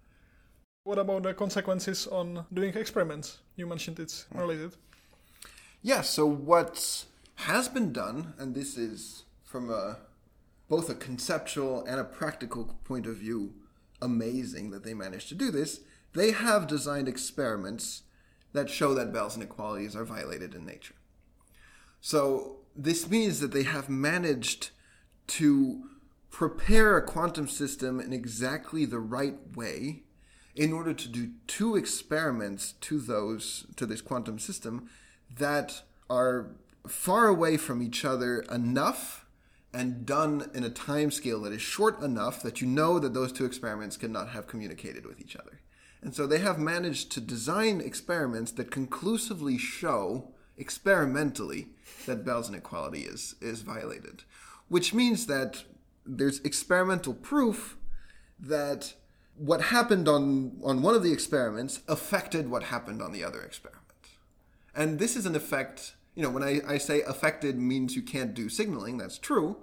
What about the consequences on doing experiments? You mentioned it's related. Yeah, so what has been done, and this is from a, both a conceptual and a practical point of view, amazing that they managed to do this, they have designed experiments that show that Bell's inequalities are violated in nature. So this means that they have managed to prepare a quantum system in exactly the right way in order to do two experiments to those to this quantum system that are far away from each other enough and done in a time scale that is short enough that you know that those two experiments cannot have communicated with each other. And so they have managed to design experiments that conclusively show experimentally that Bell's inequality is, is violated, which means that there's experimental proof that what happened on, on one of the experiments affected what happened on the other experiment. And this is an effect, you know, when I, I say affected means you can't do signaling, that's true,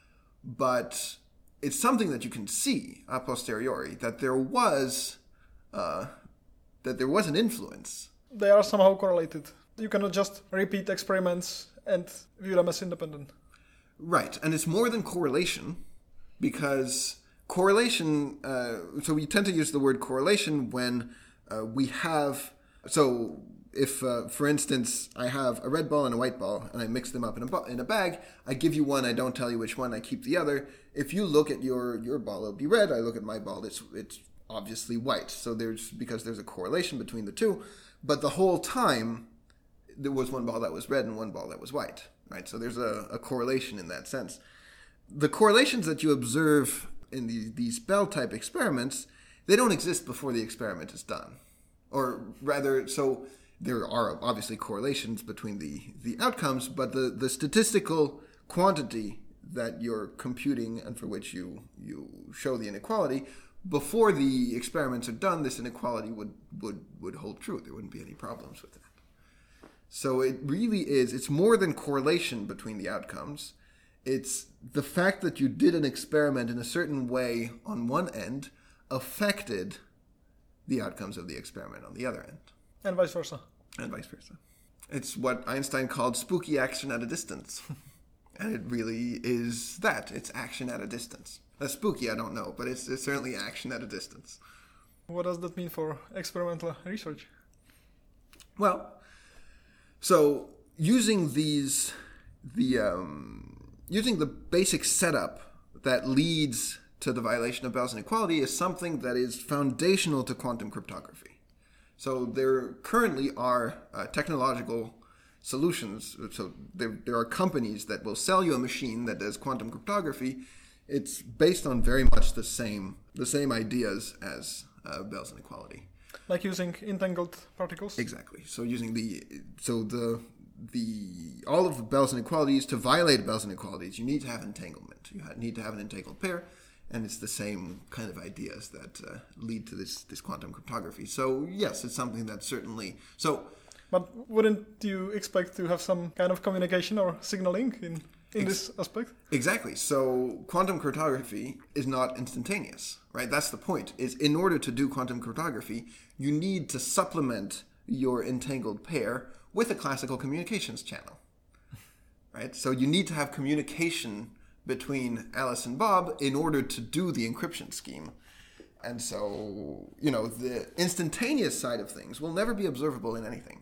but it's something that you can see a posteriori, that there was, uh, that there was an influence. They are somehow correlated. You cannot just repeat experiments and view them as independent. Right, and it's more than correlation, because correlation, uh, so we tend to use the word correlation when uh, we have, so if, uh, for instance, I have a red ball and a white ball, and I mix them up in a, bo- in a bag, I give you one, I don't tell you which one, I keep the other. If you look at your, your ball, it'll be red, I look at my ball, it's it's obviously white. So there's, because there's a correlation between the two, but the whole time, there was one ball that was red and one ball that was white, right? So there's a, a correlation in that sense. The correlations that you observe in the, these Bell-type experiments, they don't exist before the experiment is done. Or rather, so there are obviously correlations between the, the outcomes, but the, the statistical quantity that you're computing and for which you, you show the inequality, before the experiments are done, this inequality would, would, would hold true. There wouldn't be any problems with it. So it really is, it's more than correlation between the outcomes. It's the fact that you did an experiment in a certain way on one end affected the outcomes of the experiment on the other end. And vice versa. And vice versa. It's what Einstein called spooky action at a distance. And it really is that. It's action at a distance. That's spooky, I don't know, but it's, it's certainly action at a distance. What does that mean for experimental research? Well, so using these, the um, using the basic setup that leads to the violation of Bell's inequality is something that is foundational to quantum cryptography. So there currently are uh, technological solutions. So there, there are companies that will sell you a machine that does quantum cryptography. It's based on very much the same the same ideas as uh, Bell's inequality. Like using entangled particles? Exactly. So using the so the the all of the Bell's inequalities, to violate Bell's inequalities, you need to have entanglement. You need to have an entangled pair, and it's the same kind of ideas that uh, lead to this this quantum cryptography. So yes, it's something that certainly so. But wouldn't you expect to have some kind of communication or signaling in, in Ex- this aspect? Exactly. So quantum cryptography is not instantaneous, right? That's the point. Is in order to do quantum cryptography, you need to supplement your entangled pair with a classical communications channel, right? So you need to have communication between Alice and Bob in order to do the encryption scheme. And so, you know, the instantaneous side of things will never be observable in anything.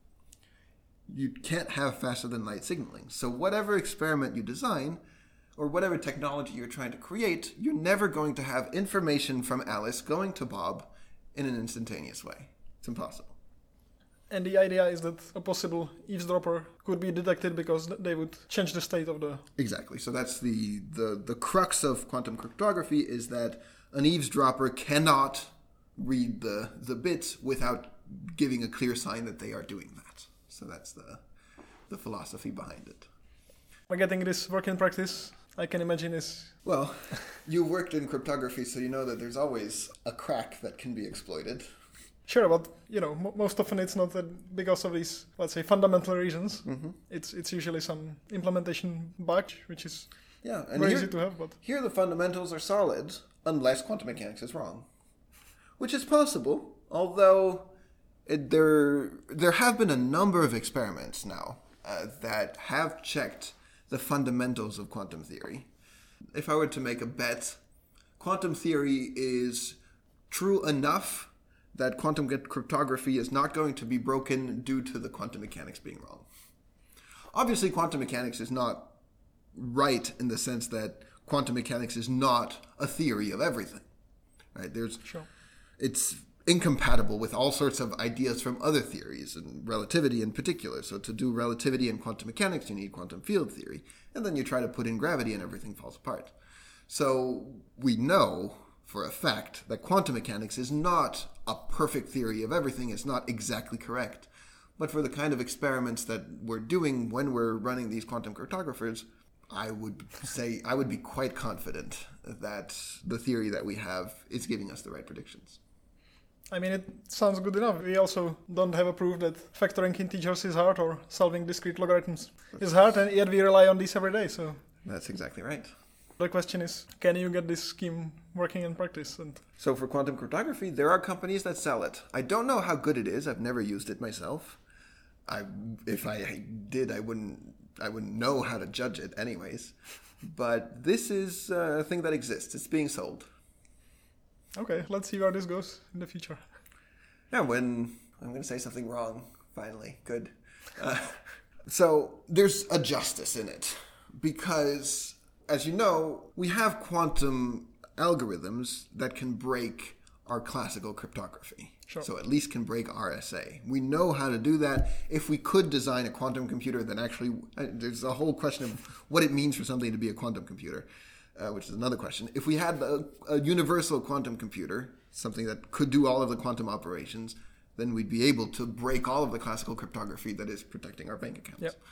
You can't have faster than light signaling. So whatever experiment you design, or whatever technology you're trying to create, you're never going to have information from Alice going to Bob in an instantaneous way. It's impossible. And the idea is that a possible eavesdropper could be detected because they would change the state of the... Exactly. So that's the, the, the crux of quantum cryptography, is that an eavesdropper cannot read the, the bits without giving a clear sign that they are doing that. So that's the the philosophy behind it. By getting this work in practice, I can imagine is... Well, you worked in cryptography, so you know that there's always a crack that can be exploited. Sure, but you know, m- most often it's not that because of these, let's say, fundamental reasons. Mm-hmm. It's it's usually some implementation bug, which is yeah, and very here, easy to have. But here the fundamentals are solid, unless quantum mechanics is wrong, which is possible. Although it, there there have been a number of experiments now uh, that have checked the fundamentals of quantum theory. If I were to make a bet, quantum theory is true enough that quantum cryptography is not going to be broken due to the quantum mechanics being wrong. Obviously, quantum mechanics is not right in the sense that quantum mechanics is not a theory of everything. Right? There's, sure. It's incompatible with all sorts of ideas from other theories, and relativity in particular. So to do relativity and quantum mechanics, you need quantum field theory. And then you try to put in gravity and everything falls apart. So we know for a fact that quantum mechanics is not a perfect theory of everything. It's not exactly correct. But for the kind of experiments that we're doing when we're running these quantum cryptographers, I would say I would be quite confident that the theory that we have is giving us the right predictions. I mean, it sounds good enough. We also don't have a proof that factoring integers is hard or solving discrete logarithms is hard, and yet we rely on these every day. So that's exactly right. The question is, can you get this scheme working in practice? And so for quantum cryptography, there are companies that sell it. I don't know how good it is. I've never used it myself. I, if I did, I wouldn't, I wouldn't know how to judge it anyways. But this is a thing that exists. It's being sold. Okay, let's see where this goes in the future. Yeah, when I'm going to say something wrong, finally. Good. Uh, so there's a justice in it because, as you know, we have quantum algorithms that can break our classical cryptography. Sure. So at least can break R S A. We know how to do that. If we could design a quantum computer that actually, uh, there's a whole question of what it means for something to be a quantum computer, uh, which is another question. If we had a, a universal quantum computer, something that could do all of the quantum operations, then we'd be able to break all of the classical cryptography that is protecting our bank accounts. Yep.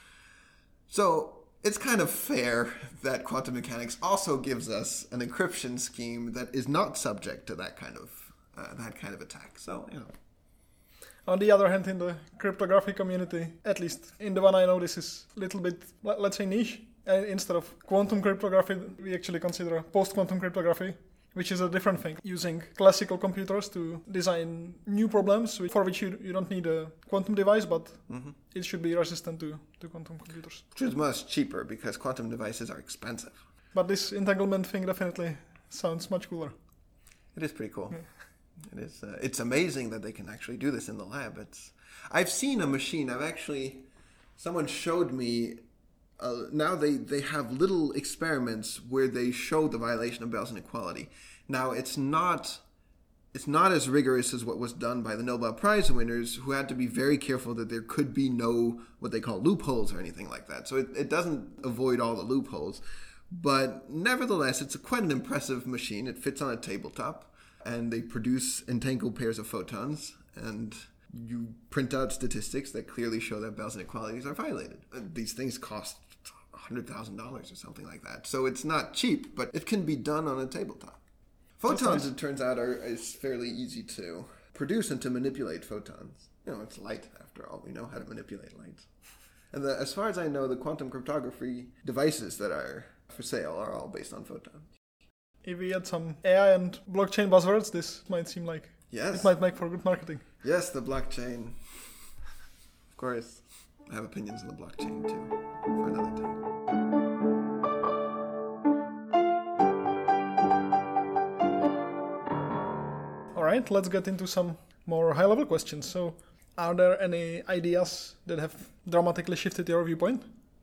So it's kind of fair that quantum mechanics also gives us an encryption scheme that is not subject to that kind of uh, that kind of attack. So, you know. On the other hand, in the cryptography community, at least in the one I know, this is a little bit, let's say, niche. And instead of quantum cryptography, we actually consider post-quantum cryptography, which is a different thing, using classical computers to design new problems for which you, you don't need a quantum device, but mm-hmm. it should be resistant to, to quantum computers. Which is much cheaper because quantum devices are expensive. But this entanglement thing definitely sounds much cooler. It is pretty cool. Yeah. It is. Uh, it's amazing that they can actually do this in the lab. It's. I've seen a machine. I've actually, someone showed me. Uh, now they, they have little experiments where they show the violation of Bell's inequality. Now it's not it's not as rigorous as what was done by the Nobel Prize winners, who had to be very careful that there could be no what they call loopholes or anything like that. So it, it doesn't avoid all the loopholes. But nevertheless, it's a, quite an impressive machine. It fits on a tabletop. and they produce entangled pairs of photons, and you print out statistics that clearly show that Bell's inequalities are violated. These things cost one hundred thousand dollars or something like that. So it's not cheap, but it can be done on a tabletop. Photons, nice. It turns out, are is fairly easy to produce and to manipulate photons. You know, it's light, after all. We know how to manipulate light. And the, as far as I know, the quantum cryptography devices that are for sale are all based on photons. If we add some A I and blockchain buzzwords, this might seem like yes. It might make for good marketing. Yes, the blockchain. Of course, I have opinions on the blockchain too, for another day. All right, let's get into some more high-level questions. So, are there any ideas that have dramatically shifted your viewpoint?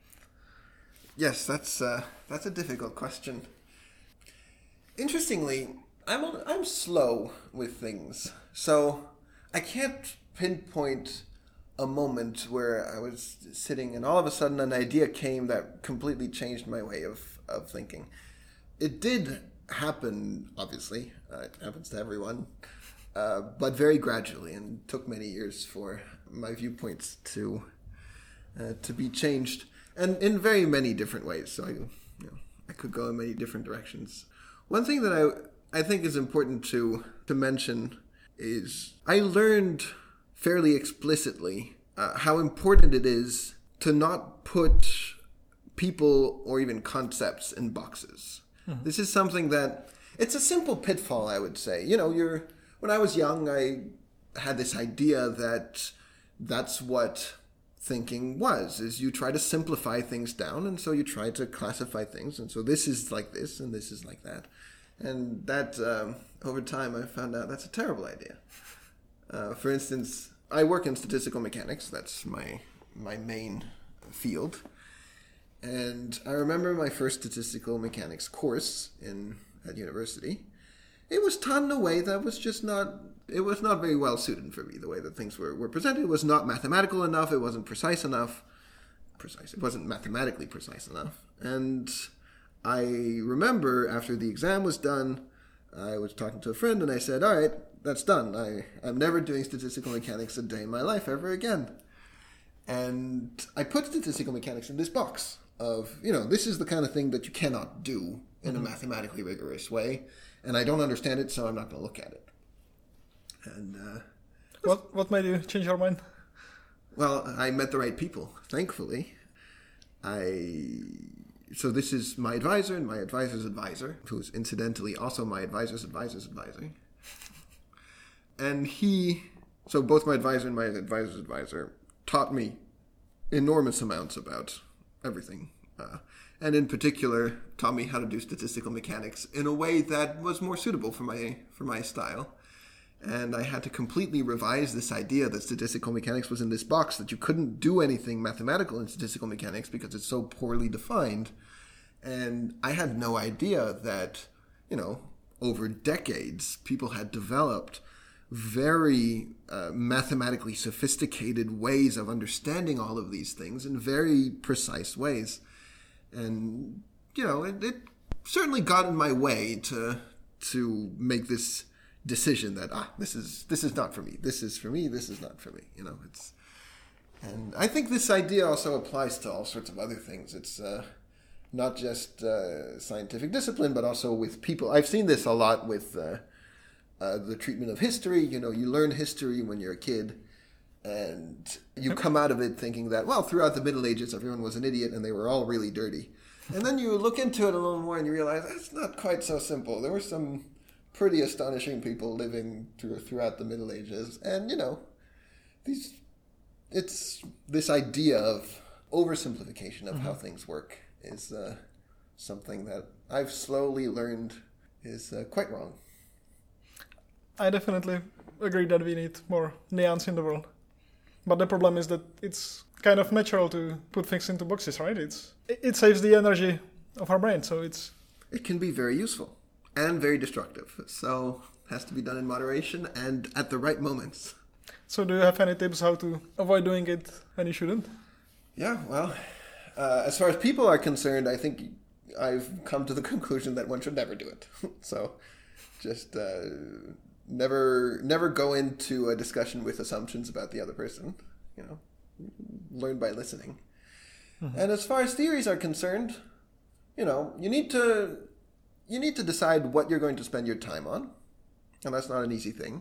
Yes, that's uh, that's a difficult question. Interestingly, I'm on, I'm slow with things, so I can't pinpoint a moment where I was sitting and all of a sudden an idea came that completely changed my way of, of thinking. It did happen, obviously. Uh, it happens to everyone. Uh, but very gradually, and took many years for my viewpoints to uh, to be changed, and in very many different ways. So I, you know, I could go in many different directions. One thing that I I think is important to to mention is I learned fairly explicitly uh, how important it is to not put people or even concepts in boxes. Mm-hmm. This is something that it's a simple pitfall, I would say. You know, you're When I was young, I had this idea that that's what thinking was, is you try to simplify things down, and so you try to classify things, and so this is like this, and this is like that. And that, um, over time, I found out that's a terrible idea. Uh, for instance, I work in statistical mechanics. That's my my main field. And I remember my first statistical mechanics course in at university. It was taught in a way that was just not, it was not very well suited for me. The way that things were, were presented, it was not mathematical enough, it wasn't precise enough. Precise, it wasn't mathematically precise enough. And I remember after the exam was done, I was talking to a friend and I said, all right, that's done. I, I'm never doing statistical mechanics a day in my life ever again. And I put statistical mechanics in this box of, you know, this is the kind of thing that you cannot do in mm-hmm. a mathematically rigorous way. And I don't understand it, so I'm not going to look at it. And uh, what what made you change your mind? Well, I met the right people, thankfully. I so this is my advisor and my advisor's advisor, who's incidentally also my advisor's advisor's advisor. And he, so both my advisor and my advisor's advisor taught me enormous amounts about everything. Uh, and in particular, taught me how to do statistical mechanics in a way that was more suitable for my for my style. And I had to completely revise this idea that statistical mechanics was in this box, that you couldn't do anything mathematical in statistical mechanics because it's so poorly defined. And I had no idea that, you know, over decades, people had developed very uh, mathematically sophisticated ways of understanding all of these things in very precise ways. And, you know, it, it certainly got in my way to to make this decision that, ah, this is this is not for me. This is for me. This is not for me. You know, it's... And I think this idea also applies to all sorts of other things. It's uh, not just uh, scientific discipline, but also with people. I've seen this a lot with uh, uh, the treatment of history. You know, you learn history when you're a kid, and you come out of it thinking that, well, throughout the Middle Ages, everyone was an idiot and they were all really dirty. And then you look into it a little more and you realize that's not quite so simple. There were some pretty astonishing people living through, throughout the Middle Ages. And, you know, these it's this idea of oversimplification of mm-hmm. how things work is uh, something that I've slowly learned is uh, quite wrong. I definitely agree that we need more nuance in the world. But the problem is that it's kind of natural to put things into boxes, right? It's it saves the energy of our brain, so it's... It can be very useful and very destructive. So it has to be done in moderation and at the right moments. So do you have any tips how to avoid doing it when you shouldn't? Yeah, well, uh, as far as people are concerned, I think I've come to the conclusion that one should never do it. So Just uh, never never go into a discussion with assumptions about the other person. You know, learn by listening. Mm-hmm. And as far as theories are concerned, you know, you need to you need to decide what you're going to spend your time on, and that's not an easy thing.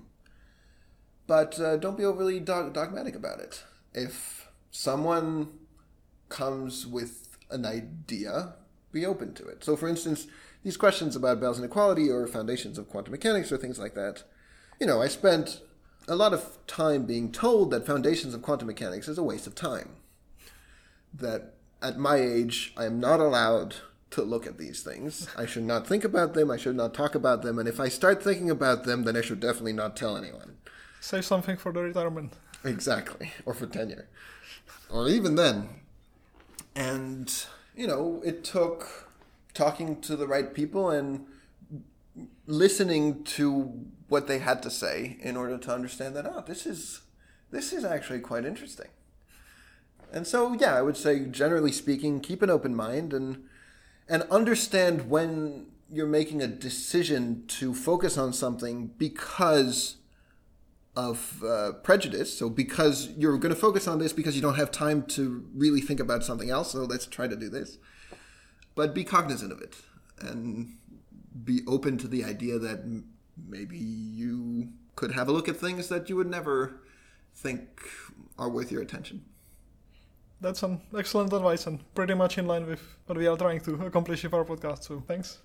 But uh, don't be overly dog- dogmatic about it. If someone comes with an idea, be open to it. So, for instance, these questions about Bell's inequality or foundations of quantum mechanics or things like that, you know, I spent a lot of time being told that foundations of quantum mechanics is a waste of time. That at my age, I am not allowed to look at these things. I should not think about them. I should not talk about them. And if I start thinking about them, then I should definitely not tell anyone. Save something for the retirement. Exactly. Or for tenure. Or even then. And, you know, it took talking to the right people and listening to what they had to say in order to understand that, oh, this is this is actually quite interesting. And so, yeah, I would say, generally speaking, keep an open mind and and understand when you're making a decision to focus on something because of uh, prejudice. So because you're going to focus on this because you don't have time to really think about something else, so let's try to do this. But be cognizant of it and be open to the idea that m- maybe you could have a look at things that you would never think are worth your attention. That's an excellent advice and pretty much in line with what we are trying to accomplish with our podcast, so thanks.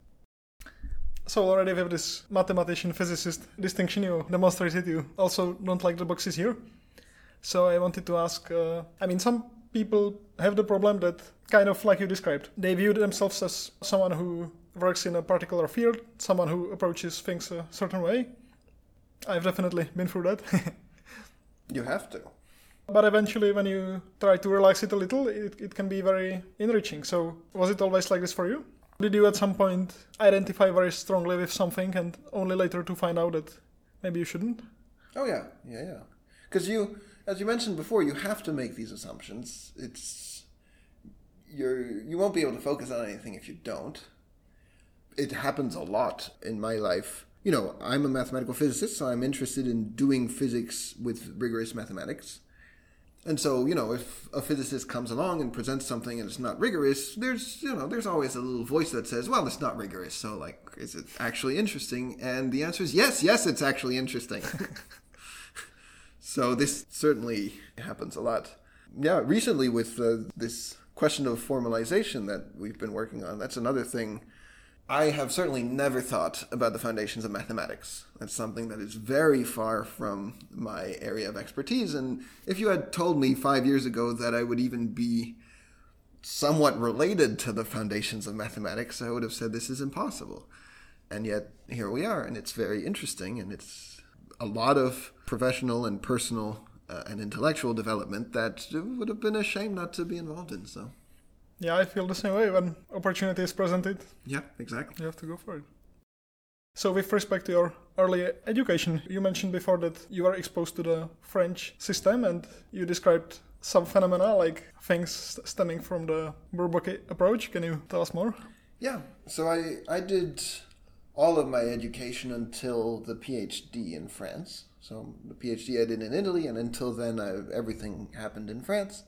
So already with this mathematician, physicist distinction you demonstrated, you also don't like the boxes here. So I wanted to ask, uh, I mean, some people have the problem that, kind of like you described, they view themselves as someone who works in a particular field, someone who approaches things a certain way. I've definitely been through that. You have to. But eventually when you try to relax it a little, it, it can be very enriching. So was it always like this for you? Did you at some point identify very strongly with something and only later to find out that maybe you shouldn't? Oh, yeah. Yeah, yeah. Because you, as you mentioned before, you have to make these assumptions. It's, you're, you won't be able to focus on anything if you don't. It happens a lot in my life. You know, I'm a mathematical physicist, so I'm interested in doing physics with rigorous mathematics. And so, you know, if a physicist comes along and presents something and it's not rigorous, there's, you know, there's always a little voice that says, well, it's not rigorous, so, like, is it actually interesting? And the answer is yes, yes, it's actually interesting. So this certainly happens a lot. Yeah, recently with uh, this question of formalization that we've been working on, that's another thing. I have certainly never thought about the foundations of mathematics. That's something that is very far from my area of expertise. And if you had told me five years ago that I would even be somewhat related to the foundations of mathematics, I would have said this is impossible. And yet here we are, and it's very interesting, and it's a lot of professional and personal uh, and intellectual development that would have been a shame not to be involved in, so... Yeah, I feel the same way. When opportunity is presented, yeah, exactly. You have to go for it. So with respect to your early education, you mentioned before that you were exposed to the French system and you described some phenomena like things stemming from the Bourbaki approach. Can you tell us more? Yeah, so I, I did all of my education until the PhD in France. So the PhD I did in Italy, and until then I, everything happened in France.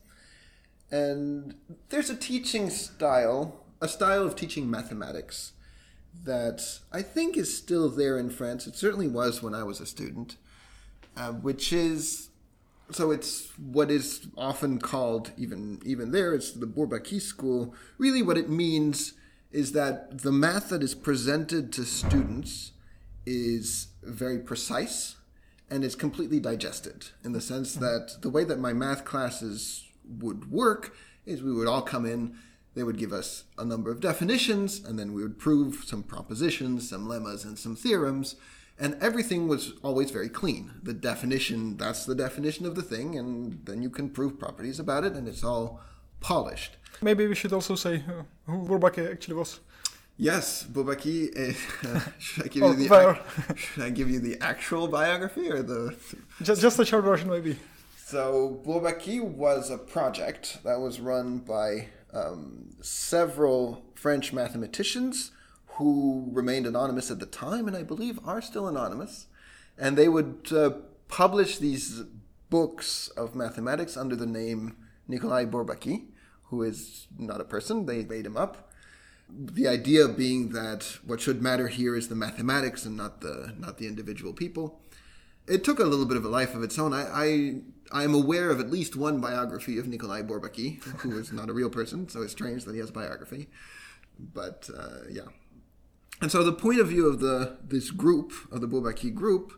And there's a teaching style, a style of teaching mathematics that I think is still there in France. It certainly was when I was a student, uh, which is, so it's what is often called, even, even there, it's the Bourbaki school. Really what it means is that the math that is presented to students is very precise and is completely digested, in the sense that the way that my math classes would work is we would all come in, they would give us a number of definitions, and then we would prove some propositions, some lemmas, and some theorems, and everything was always very clean. The definition, that's the definition of the thing, and then you can prove properties about it, and it's all polished. Maybe we should also say uh, who Bourbaki actually was. Yes, Bourbaki. Uh, should I give oh, you the ac- should I give you the actual biography or the just just a short version, maybe? So Bourbaki was a project that was run by um, several French mathematicians who remained anonymous at the time, and I believe are still anonymous. And they would uh, publish these books of mathematics under the name Nikolai Bourbaki, who is not a person, they made him up. The idea being that what should matter here is the mathematics and not the not the individual people. It took a little bit of a life of its own. I, I I'm aware of at least one biography of Nikolai Bourbaki, who is not a real person, so it's strange that he has a biography. But uh, yeah. And so the point of view of the this group, of the Bourbaki group,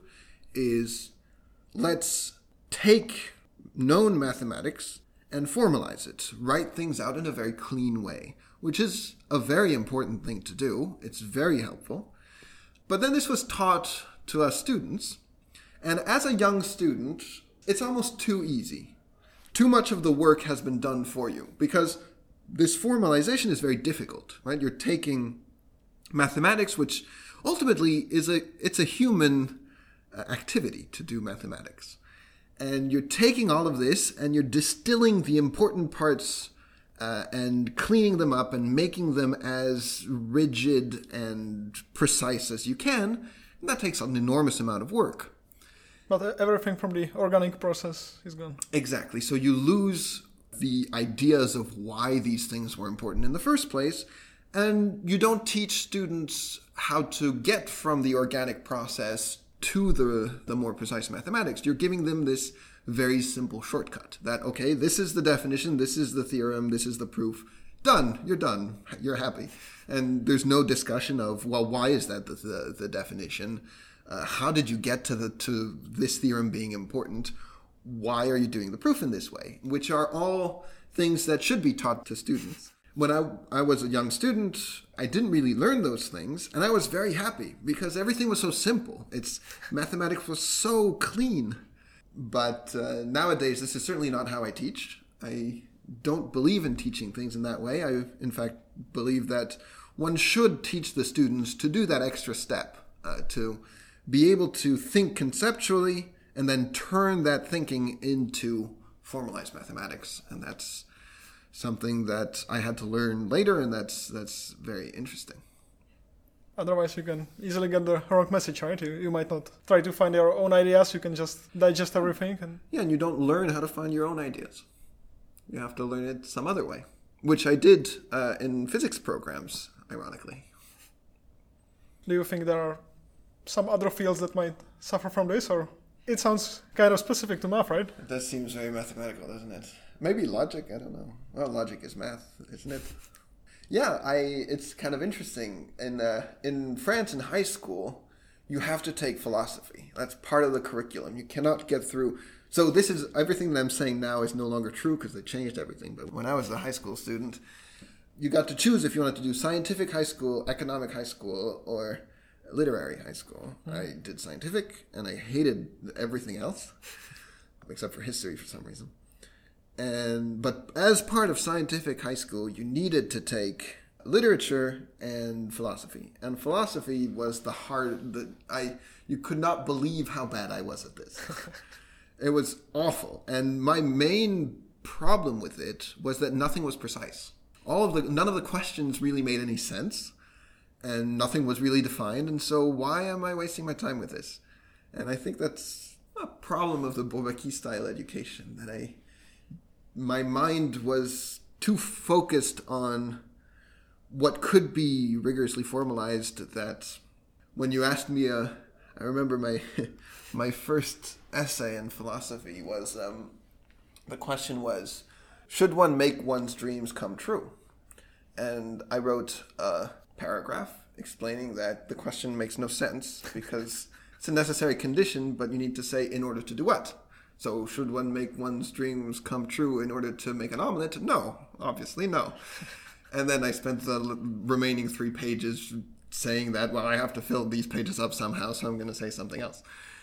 is let's take known mathematics and formalize it, write things out in a very clean way, which is a very important thing to do. It's very helpful. But then this was taught to us students, and as a young student, it's almost too easy. Too much of the work has been done for you, because this formalization is very difficult, right? You're taking mathematics, which ultimately is a it's a human activity to do mathematics. And you're taking all of this and you're distilling the important parts uh, and cleaning them up and making them as rigid and precise as you can. And that takes an enormous amount of work. But everything from the organic process is gone. Exactly. So you lose the ideas of why these things were important in the first place. And you don't teach students how to get from the organic process to the, the more precise mathematics. You're giving them this very simple shortcut that, okay, this is the definition, this is the theorem, this is the proof. Done. You're done. You're happy. And there's no discussion of, well, why is that the, the, the definition? Uh, how did you get to the to this theorem being important? Why are you doing the proof in this way? Which are all things that should be taught to students. When I, I was a young student, I didn't really learn those things, and I was very happy because everything was so simple. It's mathematics was so clean. But uh, nowadays, this is certainly not how I teach. I don't believe in teaching things in that way. I, in fact, believe that one should teach the students to do that extra step, uh, to be able to think conceptually and then turn that thinking into formalized mathematics. And that's something that I had to learn later, and that's that's very interesting. Otherwise, you can easily get the wrong message, right? You, you might not try to find your own ideas. You can just digest everything. And yeah, and you don't learn how to find your own ideas. You have to learn it some other way, which I did uh, in physics programs, ironically. Do you think there are some other fields that might suffer from this, or it sounds kind of specific to math, right? That seems very mathematical, doesn't it? Maybe logic, I don't know. Well, logic is math, isn't it? Yeah, I. It's kind of interesting. In uh, in France, in high school, you have to take philosophy. That's part of the curriculum. You cannot get through. So this is, everything that I'm saying now is no longer true because they changed everything. But when I was a high school student, you got to choose if you wanted to do scientific high school, economic high school, or literary high school. Mm. I did scientific, and I hated everything else, except for history for some reason. And but as part of scientific high school, you needed to take literature and philosophy. And philosophy was the hard. The, I you could not believe how bad I was at this. It was awful. And my main problem with it was that nothing was precise. All of the none of the questions really made any sense, and nothing was really defined. And so why am I wasting my time with this? And I think that's a problem of the Bourbaki style education, that I. My mind was too focused on what could be rigorously formalized that when you asked me, uh, I remember my my first essay in philosophy was, um, the question was, should one make one's dreams come true? And I wrote a paragraph explaining that the question makes no sense because it's a necessary condition, but you need to say in order to do what? So should one make one's dreams come true in order to make an omelet? No, obviously no. And then I spent the remaining three pages saying that, well, I have to fill these pages up somehow, so I'm going to say something else.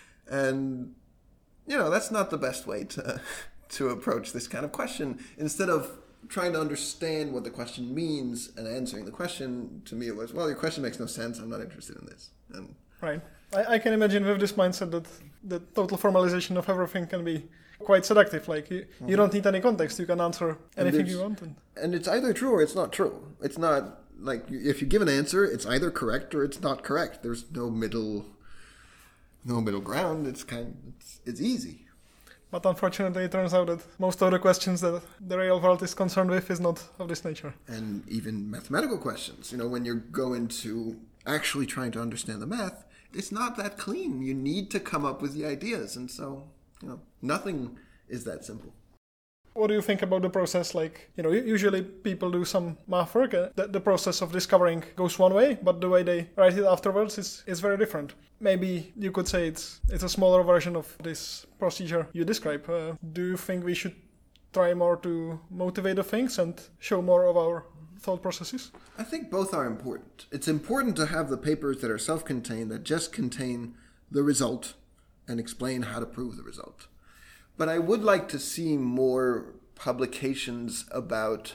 And, you know, that's not the best way to to approach this kind of question. Instead of trying to understand what the question means and answering the question, to me it was, well, your question makes no sense, I'm not interested in this. And right. I, I can imagine with this mindset that the total formalization of everything can be quite seductive. Like, you, mm-hmm. you don't need any context. You can answer anything you want. And... and it's either true or it's not true. It's not like, if you give an answer, it's either correct or it's not correct. There's no middle, no middle ground. It's kind of, it's, it's easy. But unfortunately, it turns out that most of the questions that the real world is concerned with is not of this nature. And even mathematical questions, you know, when you're going to actually trying to understand the math, it's not that clean. You need to come up with the ideas. And so, you know, nothing is that simple. What do you think about the process? Like, you know, usually people do some math work. Uh, the, the process of discovering goes one way, but the way they write it afterwards is, is very different. Maybe you could say it's it's a smaller version of this procedure you describe. Uh, do you think we should try more to motivate the things and show more of our thought processes? I think both are important. It's important to have the papers that are self-contained, that just contain the result and explain how to prove the result. But I would like to see more publications about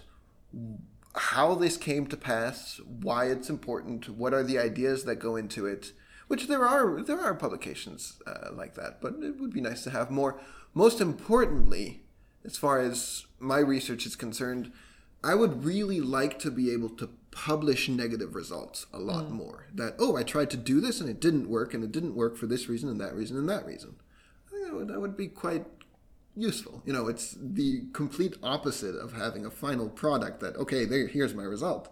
how this came to pass, why it's important, what are the ideas that go into it, which there are there are publications uh, like that, but it would be nice to have more. Most importantly, as far as my research is concerned, I would really like to be able to publish negative results a lot mm. more. That, oh, I tried to do this and it didn't work, and it didn't work for this reason and that reason and that reason. I think that would, that would be quite useful. You know, it's the complete opposite of having a final product that, okay, there, here's my result.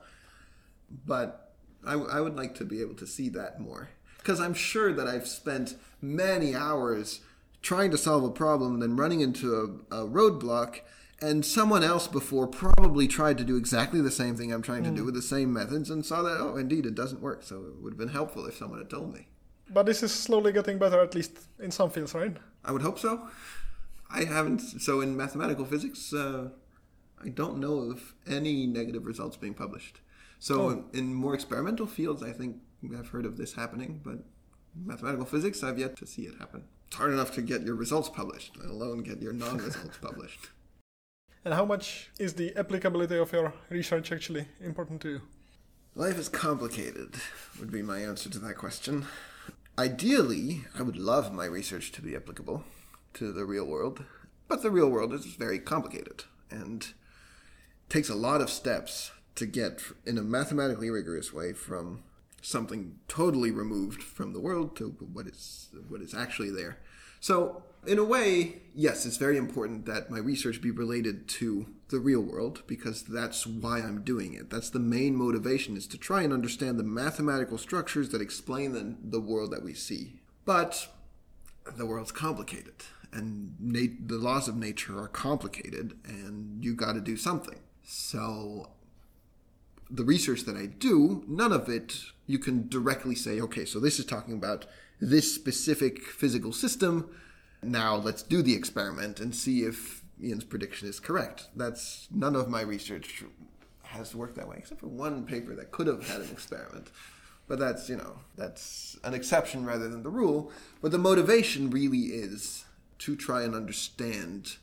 But I, I would like to be able to see that more. Because I'm sure that I've spent many hours trying to solve a problem, then running into a, a roadblock, and someone else before probably tried to do exactly the same thing I'm trying to mm. do with the same methods and saw that, oh, indeed, it doesn't work. So it would have been helpful if someone had told me. But this is slowly getting better, at least in some fields, right? I would hope so. I haven't, so in mathematical physics, uh, I don't know of any negative results being published. So oh. in, in more experimental fields, I think I've heard of this happening, but in mathematical physics, I've yet to see it happen. It's hard enough to get your results published, let alone get your non-results published. And how much is the applicability of your research actually important to you? Life is complicated, would be my answer to that question. Ideally, I would love my research to be applicable to the real world, but the real world is very complicated and takes a lot of steps to get in a mathematically rigorous way from something totally removed from the world to what is what is actually there. So in a way, yes, it's very important that my research be related to the real world, because that's why I'm doing it. That's the main motivation, is to try and understand the mathematical structures that explain the, the world that we see. But the world's complicated, and nat- the laws of nature are complicated, and you got to do something. So the research that I do, none of it you can directly say, okay, so this is talking about this specific physical system. Now let's do the experiment and see if Ian's prediction is correct. That's none of my research has worked that way, except for one paper that could have had an experiment. But that's, you know, that's an exception rather than the rule. But the motivation really is to try and understand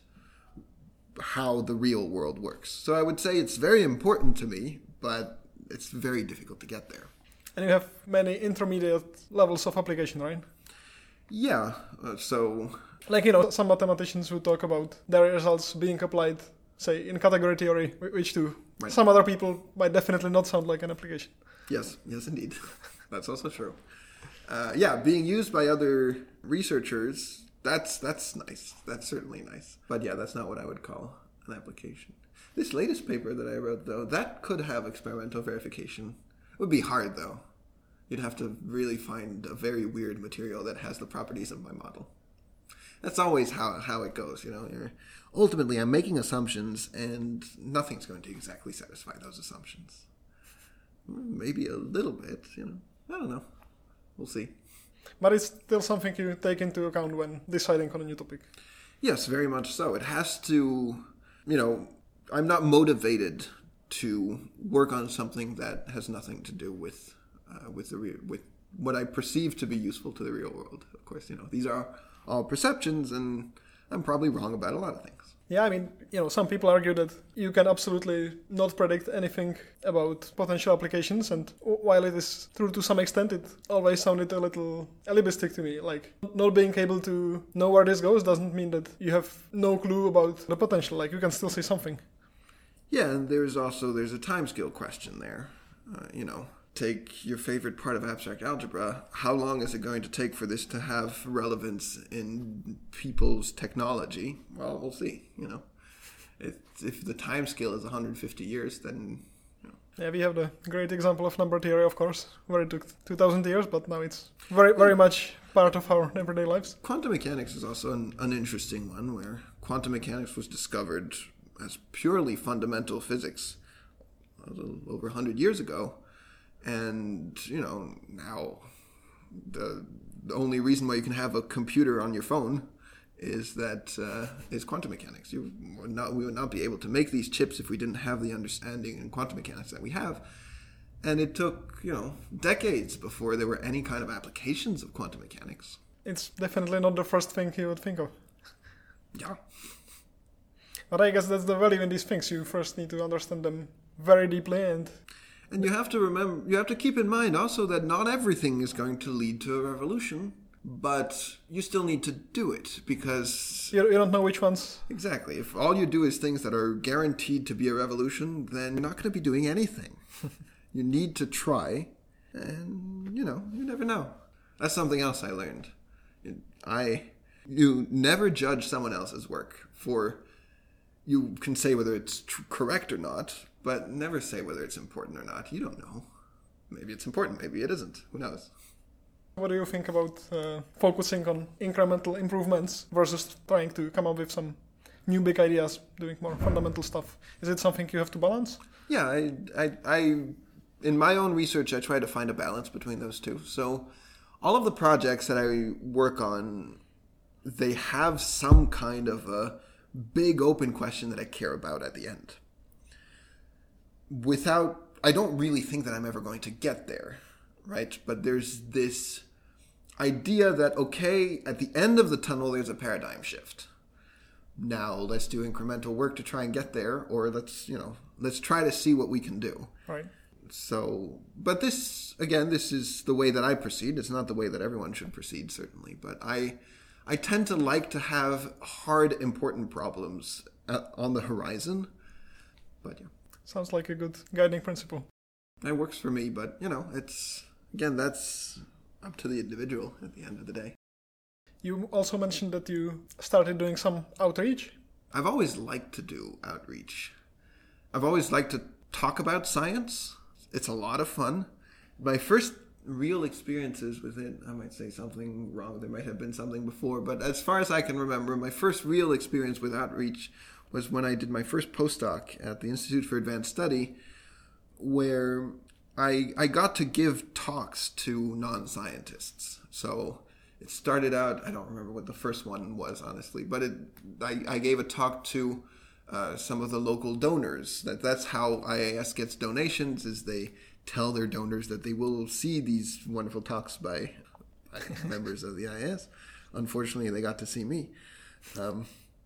how the real world works. So I would say it's very important to me, but it's very difficult to get there. And you have many intermediate levels of application, right? Yeah, uh, so... Like, you know, some mathematicians who talk about their results being applied, say, in category theory, which to right. some other people might definitely not sound like an application. Yes, yes, indeed. That's also true. Uh, yeah, being used by other researchers, that's that's nice. That's certainly nice. But yeah, that's not what I would call an application. This latest paper that I wrote, though, that could have experimental verification. It would be hard, though. You'd have to really find a very weird material that has the properties of my model. That's always how how it goes, you know. You're, ultimately, I'm making assumptions, and nothing's going to exactly satisfy those assumptions. Maybe a little bit, you know. I don't know. We'll see. But it's still something you take into account when deciding on a new topic. Yes, very much so. It has to, you know, I'm not motivated to work on something that has nothing to do with uh, with the re- with what I perceive to be useful to the real world. Of course, you know, these are all perceptions, and I'm probably wrong about a lot of things. Yeah, I mean, you know, some people argue that you can absolutely not predict anything about potential applications, and while it is true to some extent, it always sounded a little alibistic to me. Like, not being able to know where this goes doesn't mean that you have no clue about the potential. Like, you can still see something. Yeah, and there's also, there's a timescale question there. uh, you know, take your favorite part of abstract algebra. How long is it going to take for this to have relevance in people's technology? Well, we'll see, you know. If, if the time scale is one hundred fifty years, then... You know. Yeah, we have the great example of number theory, of course, where it took two thousand years, but now it's very, very much part of our everyday lives. Quantum mechanics is also an, an interesting one, where quantum mechanics was discovered as purely fundamental physics a little over one hundred years ago. And, you know, now the, the only reason why you can have a computer on your phone is that uh, is quantum mechanics. You would not, we would not be able to make these chips if we didn't have the understanding in quantum mechanics that we have. And it took, you know, decades before there were any kind of applications of quantum mechanics. It's definitely not the first thing you would think of. Yeah. But I guess that's the value in these things. You first need to understand them very deeply, and... And you have to remember, you have to keep in mind also that not everything is going to lead to a revolution. But you still need to do it, because... You, you don't know which ones. Exactly. If all you do is things that are guaranteed to be a revolution, then you're not going to be doing anything. You need to try, and, you know, you never know. That's something else I learned. I... You never judge someone else's work for... You can say whether it's tr- correct or not, but never say whether it's important or not. You don't know. Maybe it's important, maybe it isn't. Who knows? What do you think about uh, focusing on incremental improvements versus trying to come up with some new big ideas, doing more fundamental stuff? Is it something you have to balance? Yeah, I, I, I, in my own research, I try to find a balance between those two. So all of the projects that I work on, they have some kind of a big open question that I care about at the end. Without, I don't really think that I'm ever going to get there. Right? But there's this idea that, okay, at the end of the tunnel, there's a paradigm shift. Now, let's do incremental work to try and get there, or let's, you know, let's try to see what we can do. Right. So, but this, again, this is the way that I proceed. It's not the way that everyone should proceed, certainly. But I, I tend to like to have hard, important problems on the horizon. But, yeah. Sounds like a good guiding principle. That works for me, but, you know, it's... Again, that's up to the individual at the end of the day. You also mentioned that you started doing some outreach. I've always liked to do outreach. I've always liked to talk about science. It's a lot of fun. My first real experiences with it, I might say something wrong. There might have been something before, but as far as I can remember, my first real experience with outreach was when I did my first postdoc at the Institute for Advanced Study, where... I, I got to give talks to non-scientists. So it started out, I don't remember what the first one was, honestly, but it, I, I gave a talk to uh, some of the local donors. That That's how I A S gets donations, is they tell their donors that they will see these wonderful talks by, by members of the I A S. Unfortunately, they got to see me. Um,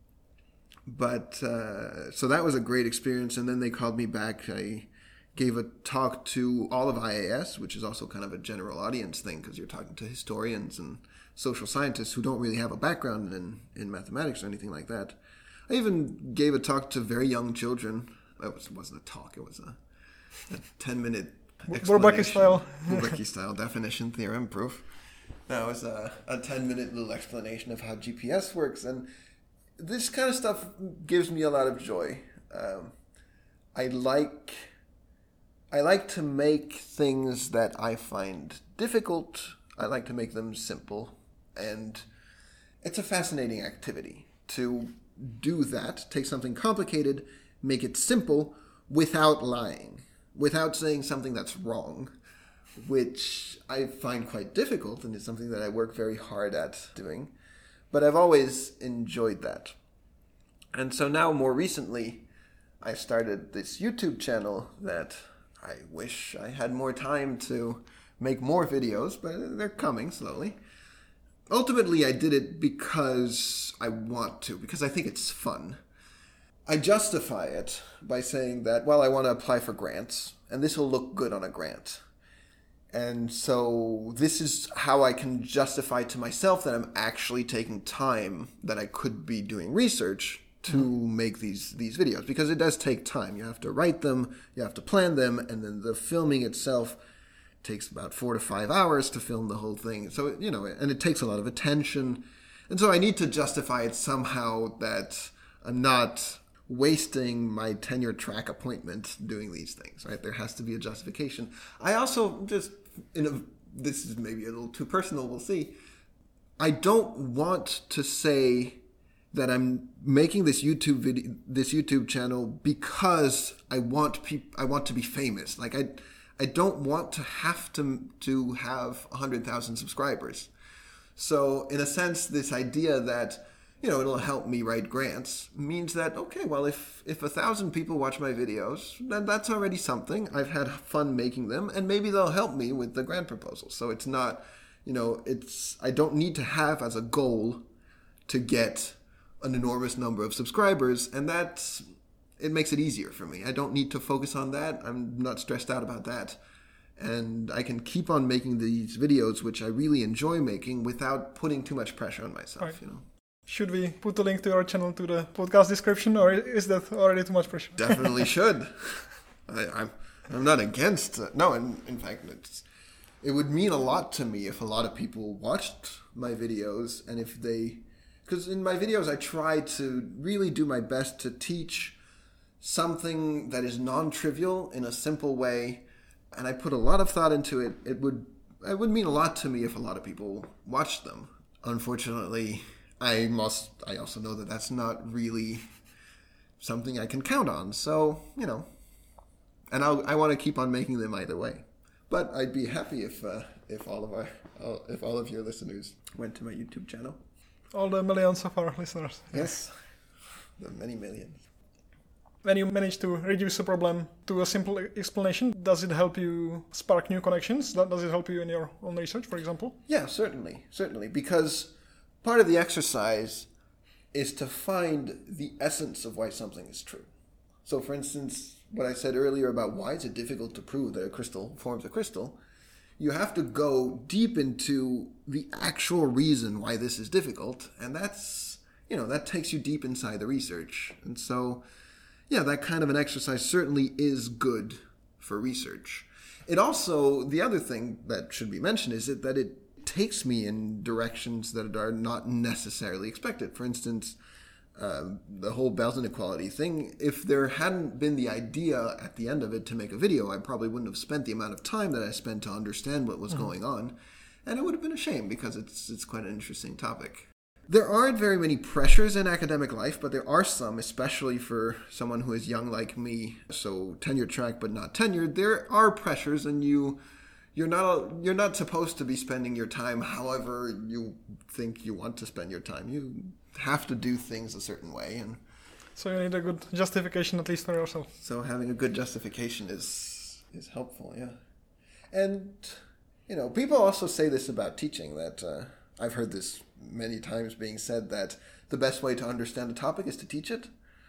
but, uh, so that was a great experience, and then they called me back. I... gave a talk to all of I A S, which is also kind of a general audience thing, because you're talking to historians and social scientists who don't really have a background in, in mathematics or anything like that. I even gave a talk to very young children. It, was, it wasn't a talk, it was a, a ten-minute Bourbaki style. Bourbaki style, definition, theorem, proof. That was a, a ten-minute little explanation of how G P S works, and this kind of stuff gives me a lot of joy. Um, I like... I like to make things that I find difficult, I like to make them simple, and it's a fascinating activity to do that, take something complicated, make it simple without lying, without saying something that's wrong, which I find quite difficult, and it's something that I work very hard at doing, but I've always enjoyed that. And so now, more recently, I started this YouTube channel that... I wish I had more time to make more videos, but they're coming slowly. Ultimately, I did it because I want to, because I think it's fun. I justify it by saying that, well, I want to apply for grants, and this will look good on a grant. And so this is how I can justify to myself that I'm actually taking time that I could be doing research to mm-hmm. make these, these videos, because it does take time. You have to write them, you have to plan them, and then the filming itself takes about four to five hours to film the whole thing. So, you know, and it takes a lot of attention. And so I need to justify it somehow that I'm not wasting my tenure track appointment doing these things, right? There has to be a justification. I also just, in a, this is maybe a little too personal, we'll see. I don't want to say that I'm making this YouTube video, this YouTube channel because I want peop- I want to be famous. Like I, I don't want to have to to have a hundred thousand subscribers. So in a sense, this idea that, you know, it'll help me write grants means that, okay, well, if, if a thousand people watch my videos, then that's already something. I've had fun making them, and maybe they'll help me with the grant proposal. So it's not, you know, it's, I don't need to have as a goal to get an enormous number of subscribers, and that's, it makes it easier for me. I don't need to focus on that. I'm not stressed out about that. And I can keep on making these videos, which I really enjoy making, without putting too much pressure on myself, right. you know. Should we put a link to your channel to the podcast description, or is that already too much pressure? Definitely should. I, I'm I'm not against it. No, in, in fact, it's, it would mean a lot to me if a lot of people watched my videos, and if they... Because in my videos, I try to really do my best to teach something that is non-trivial in a simple way, and I put a lot of thought into it. It would it would mean a lot to me if a lot of people watched them. Unfortunately, I must. I also know that that's not really something I can count on. So, you know, and I'll, I want to keep on making them either way. But I'd be happy if uh, if all of our if all of your listeners went to my YouTube channel. All the millions of our listeners. Yes, the many millions. When you manage to reduce a problem to a simple explanation, does it help you spark new connections? Does it help you in your own research, for example? Yeah, certainly, certainly. Because part of the exercise is to find the essence of why something is true. So, for instance, what I said earlier about why is it difficult to prove that a crystal forms a crystal, you have to go deep into the actual reason why this is difficult, and that's, you know, that takes you deep inside the research. And so, yeah, that kind of an exercise certainly is good for research. It also, the other thing that should be mentioned is it, that it takes me in directions that are not necessarily expected. For instance, uh, the whole Bell's inequality thing, if there hadn't been the idea at the end of it to make a video, I probably wouldn't have spent the amount of time that I spent to understand what was mm-hmm. going on. And it would have been a shame because it's it's quite an interesting topic. There aren't very many pressures in academic life, but there are some, especially for someone who is young like me, so tenure track but not tenured. There are pressures, and you, you're not you're not supposed to be spending your time however you think you want to spend your time. You have to do things a certain way, and so you need a good justification at least for yourself. So having a good justification is is helpful, yeah. And you know, people also say this about teaching, that uh, I've heard this many times being said, that the best way to understand a topic is to teach it.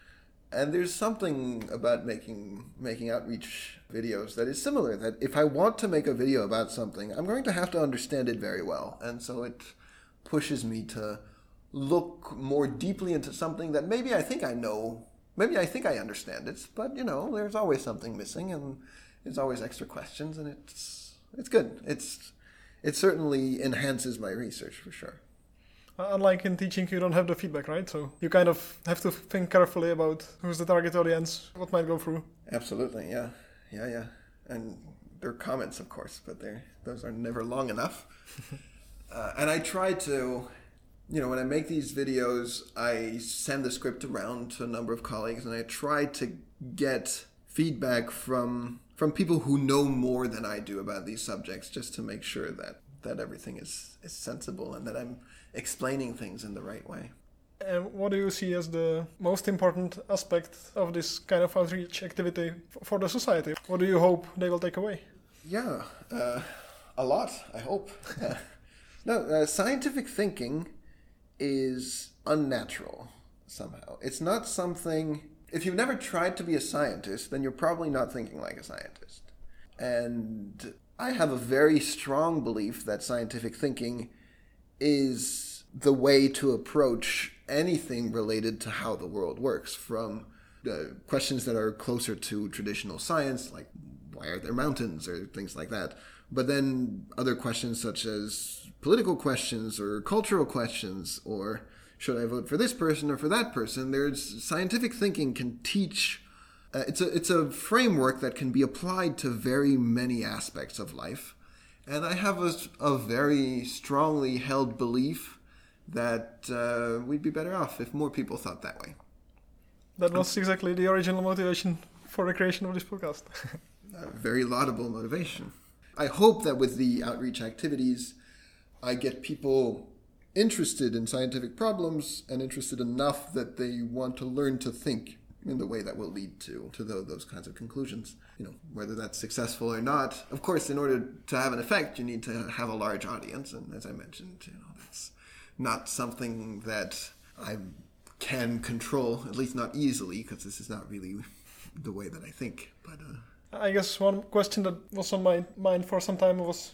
And there's something about making making outreach videos that is similar, that if I want to make a video about something, I'm going to have to understand it very well. And so it pushes me to look more deeply into something that maybe I think I know, maybe I think I understand it, but, you know, there's always something missing, and there's always extra questions, and it's it's good. It's it certainly enhances my research for sure. Unlike in teaching, you don't have the feedback, right? So you kind of have to think carefully about who's the target audience, what might go through. Absolutely, yeah. Yeah, yeah. And there are comments, of course, but they're, those are never long enough. uh, and I try to, you know, when I make these videos, I send the script around to a number of colleagues, and I try to get feedback from from people who know more than I do about these subjects, just to make sure that, that everything is, is sensible and that I'm explaining things in the right way. And what do you see as the most important aspect of this kind of outreach activity for the society? What do you hope they will take away? Yeah, uh, a lot, I hope. uh, no, uh, scientific thinking is unnatural somehow. It's not something... If you've never tried to be a scientist, then you're probably not thinking like a scientist. And I have a very strong belief that scientific thinking is the way to approach anything related to how the world works, from uh, questions that are closer to traditional science, like why are there mountains or things like that, but then other questions such as political questions or cultural questions, or should I vote for this person or for that person? There's scientific thinking can teach. Uh, it's a it's a framework that can be applied to very many aspects of life, and I have a, a very strongly held belief that uh, we'd be better off if more people thought that way. That was exactly the original motivation for the creation of this podcast. A very laudable motivation. I hope that with the outreach activities, I get people interested in scientific problems and interested enough that they want to learn to think in the way that will lead to, to the, those kinds of conclusions. You know, whether that's successful or not. Of course, in order to have an effect, you need to have a large audience. And as I mentioned, you know, that's not something that I can control, at least not easily, because this is not really the way that I think. But uh, I guess one question that was on my mind for some time was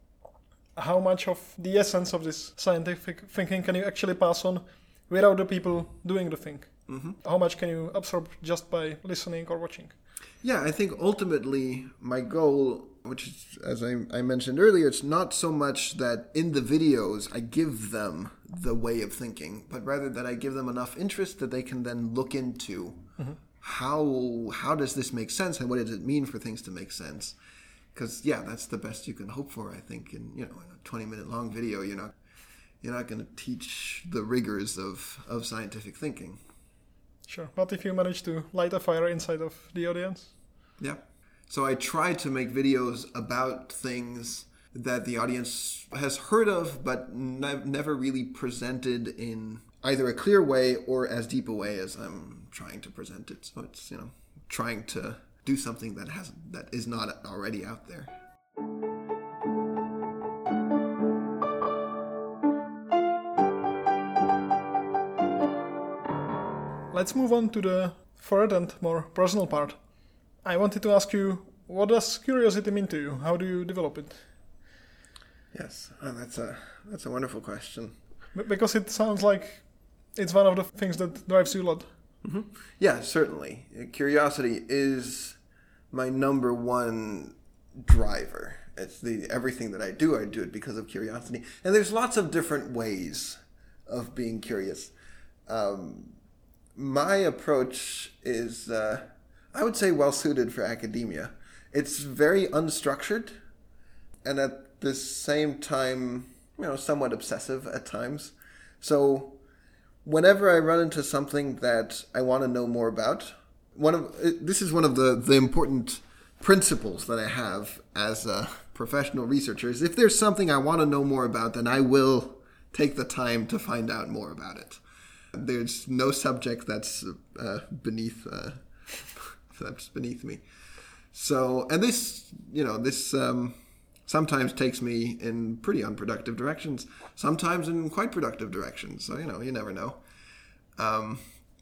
how much of the essence of this scientific thinking can you actually pass on without the people doing the thing? Mm-hmm. How much can you absorb just by listening or watching? Yeah, I think ultimately my goal, which is, as I, I mentioned earlier, it's not so much that in the videos I give them the way of thinking, but rather that I give them enough interest that they can then look into mm-hmm. how how does this make sense and what does it mean for things to make sense. Because yeah, that's the best you can hope for. I think in you know in a twenty minute long video, you're not you're not going to teach the rigors of, of scientific thinking. Sure. What if you manage to light a fire inside of the audience? Yeah. So I try to make videos about things that the audience has heard of, but ne- never really presented in either a clear way or as deep a way as I'm trying to present it. So it's, you know, trying to do something that has that is not already out there. Let's move on to the third and more personal part. I wanted to ask you, what does curiosity mean to you? How do you develop it? Yes, oh, that's a that's a wonderful question. B- because it sounds like it's one of the things that drives you a lot. Mm-hmm. Yeah, certainly. Curiosity is my number one driver. It's the everything that I do, I do it because of curiosity. And there's lots of different ways of being curious. Um, my approach is, uh, I would say, well suited for academia. It's very unstructured, and at the same time, you know, somewhat obsessive at times. So whenever I run into something that I want to know more about, one of this is one of the, the important principles that I have as a professional researcher is if there's something I want to know more about, then I will take the time to find out more about it. There's no subject that's uh, beneath uh, that's beneath me. So, and this, you know, this um, sometimes takes me in pretty unproductive directions, sometimes in quite productive directions. So, you know, you never know. Um,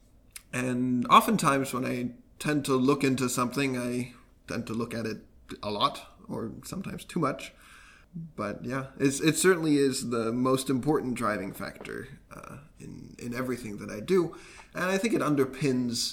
and oftentimes when I tend to look into something, I tend to look at it a lot or sometimes too much. But yeah, it's, it certainly is the most important driving factor uh, in, in everything that I do. And I think it underpins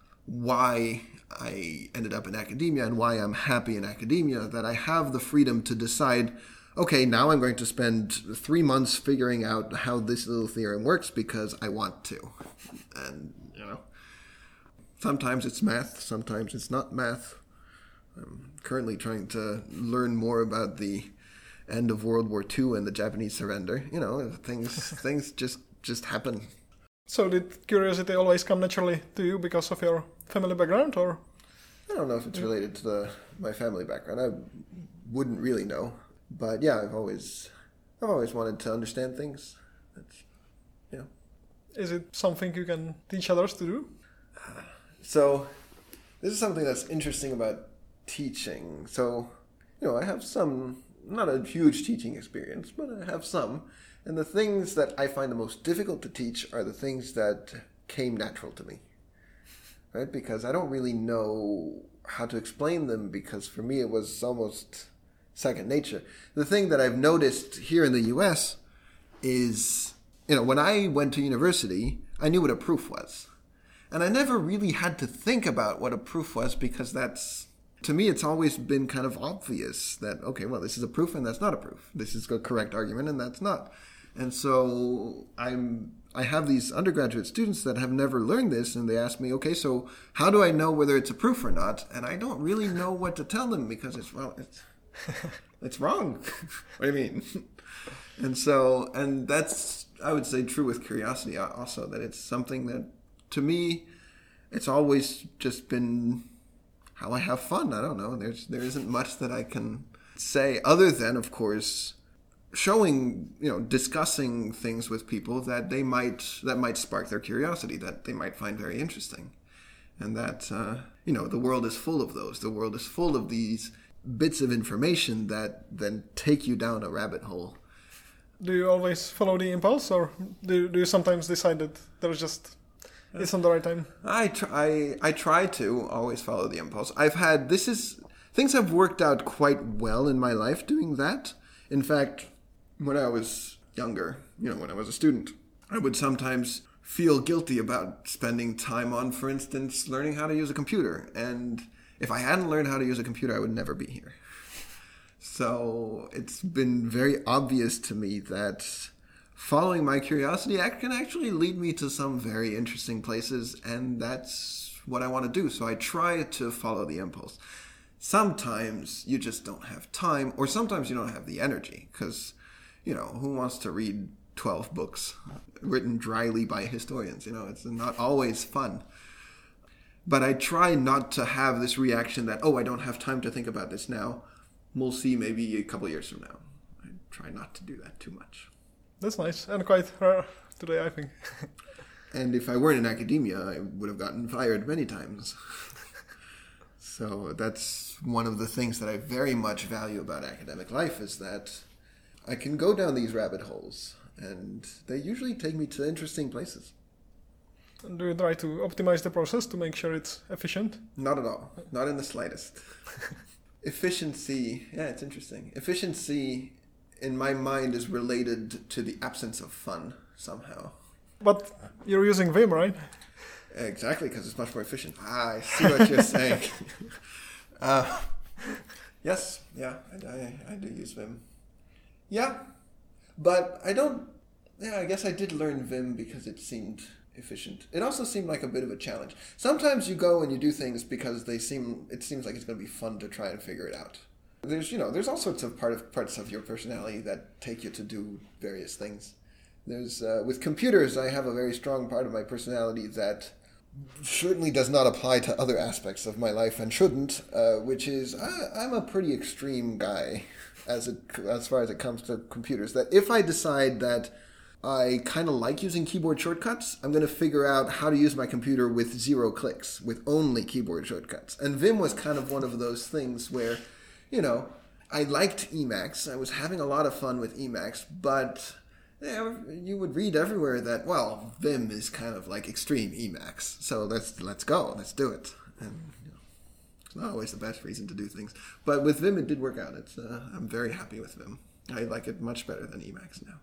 why I ended up in academia and why I'm happy in academia, that I have the freedom to decide, okay, now I'm going to spend three months figuring out how this little theorem works because I want to. And, you know, sometimes it's math, sometimes it's not math. I'm currently trying to learn more about the end of World War Two and the Japanese surrender. You know, things things just, just happen. So did curiosity always come naturally to you because of your family background, or? I don't know if it's related to the my family background. I wouldn't really know. But yeah, I've always I've always wanted to understand things. That's, you know. Is it something you can teach others to do? Uh, so this is something that's interesting about teaching. So, you know, I have some, not a huge teaching experience, but I have some. And the things that I find the most difficult to teach are the things that came natural to me, right? Because I don't really know how to explain them, because for me it was almost second nature. The thing that I've noticed here in the U S is you know, when I went to university, I knew what a proof was. And I never really had to think about what a proof was because that's, to me, it's always been kind of obvious that, okay, well, this is a proof and that's not a proof. This is a correct argument and that's not. And so I'm, I have these undergraduate students that have never learned this and they ask me, okay, so how do I know whether it's a proof or not? And I don't really know what to tell them because it's, well, it's, it's wrong. What do you mean? And so, and that's, I would say, true with curiosity also, that it's something that, to me, it's always just been how I have fun. I don't know. There's there isn't much that I can say other than, of course, showing, you know, discussing things with people that they might that might spark their curiosity, that they might find very interesting, and that uh, you know, the world is full of those. The world is full of these bits of information that then take you down a rabbit hole. Do you always follow the impulse, or do do you sometimes decide that there's just it's not the right time? I try. I try to always follow the impulse. I've had this is things have worked out quite well in my life doing that. In fact, when I was younger, you know, when I was a student, I would sometimes feel guilty about spending time on, for instance, learning how to use a computer. And if I hadn't learned how to use a computer, I would never be here. So it's been very obvious to me that following my curiosity can actually lead me to some very interesting places, and that's what I want to do. So I try to follow the impulse. Sometimes you just don't have time, or sometimes you don't have the energy, because, you know, who wants to read twelve books written dryly by historians? You know, it's not always fun. But I try not to have this reaction that, oh, I don't have time to think about this now. We'll see maybe a couple years from now. I try not to do that too much. That's nice, and quite rare today, I think. And if I weren't in academia, I would have gotten fired many times. So that's one of the things that I very much value about academic life, is that I can go down these rabbit holes, and they usually take me to interesting places. And do you try to optimize the process to make sure it's efficient? Not at all. Not in the slightest. Efficiency, yeah, it's interesting. Efficiency, in my mind, is related to the absence of fun, somehow. But you're using Vim, right? Exactly, because it's much more efficient. Ah, I see what you're saying. uh, yes, yeah, I, I, I do use Vim. Yeah, but I don't... Yeah, I guess I did learn Vim because it seemed efficient. It also seemed like a bit of a challenge. Sometimes you go and you do things because they seem... It seems like it's going to be fun to try and figure it out. There's, you know, there's all sorts of part of parts of your personality that take you to do various things. There's, uh, with computers, I have a very strong part of my personality that certainly does not apply to other aspects of my life and shouldn't, uh, which is I, I'm a pretty extreme guy as it, as far as it comes to computers. That if I decide that I kind of like using keyboard shortcuts, I'm going to figure out how to use my computer with zero clicks, with only keyboard shortcuts. And Vim was kind of one of those things where, you know, I liked Emacs. I was having a lot of fun with Emacs, but yeah, you would read everywhere that, well, Vim is kind of like extreme Emacs. So let's let's go, let's do it. And you know, it's not always the best reason to do things, but with Vim it did work out. It's uh, I'm very happy with Vim. I like it much better than Emacs now.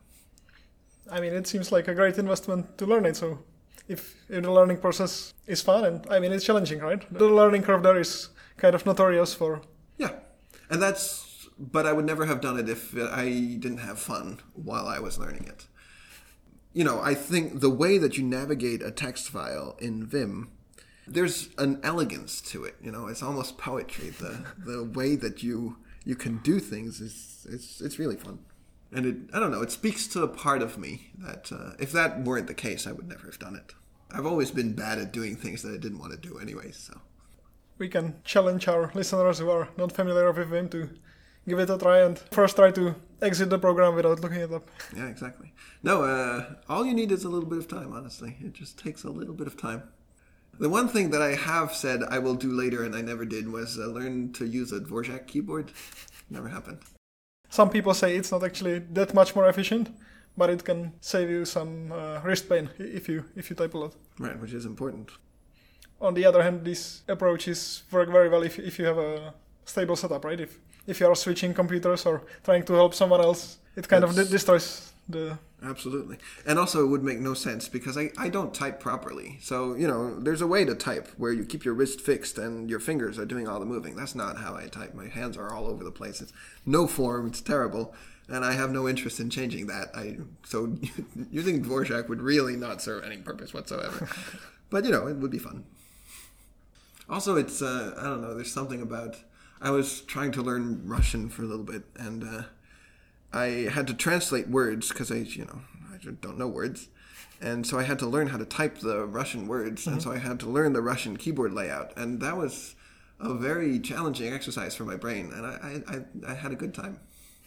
I mean, it seems like a great investment to learn it. So if, if the learning process is fun, and I mean, it's challenging, right? The learning curve there is kind of notorious for. Yeah, and that's. But I would never have done it if I didn't have fun while I was learning it. You know, I think the way that you navigate a text file in Vim, there's an elegance to it. You know, it's almost poetry. The the way that you you can do things is it's it's really fun. And it, I don't know, it speaks to a part of me that uh, if that weren't the case, I would never have done it. I've always been bad at doing things that I didn't want to do anyway, so. We can challenge our listeners who are not familiar with Vim to give it a try and first try to exit the program without looking it up. Yeah, exactly. No, uh, all you need is a little bit of time, honestly. It just takes a little bit of time. The one thing that I have said I will do later and I never did was uh, learn to use a Dvorak keyboard. Never happened. Some people say it's not actually that much more efficient, but it can save you some uh, wrist pain if you if you type a lot. Right, which is important. On the other hand, these approaches work very well if if you have a stable setup, right? If if you are switching computers or trying to help someone else, it kind That's, of de- destroys the Absolutely. And also it would make no sense because I, I don't type properly. So, you know, there's a way to type where you keep your wrist fixed and your fingers are doing all the moving. That's not how I type. My hands are all over the place. It's no form. It's terrible. And I have no interest in changing that. I So using Dvorak would really not serve any purpose whatsoever. But, you know, it would be fun. Also, it's, uh, I don't know, there's something about... I was trying to learn Russian for a little bit, and... Uh, I had to translate words because I, you know, I don't know words. And so I had to learn how to type the Russian words. Mm-hmm. And so I had to learn the Russian keyboard layout. And that was a very challenging exercise for my brain. And I, I, I had a good time.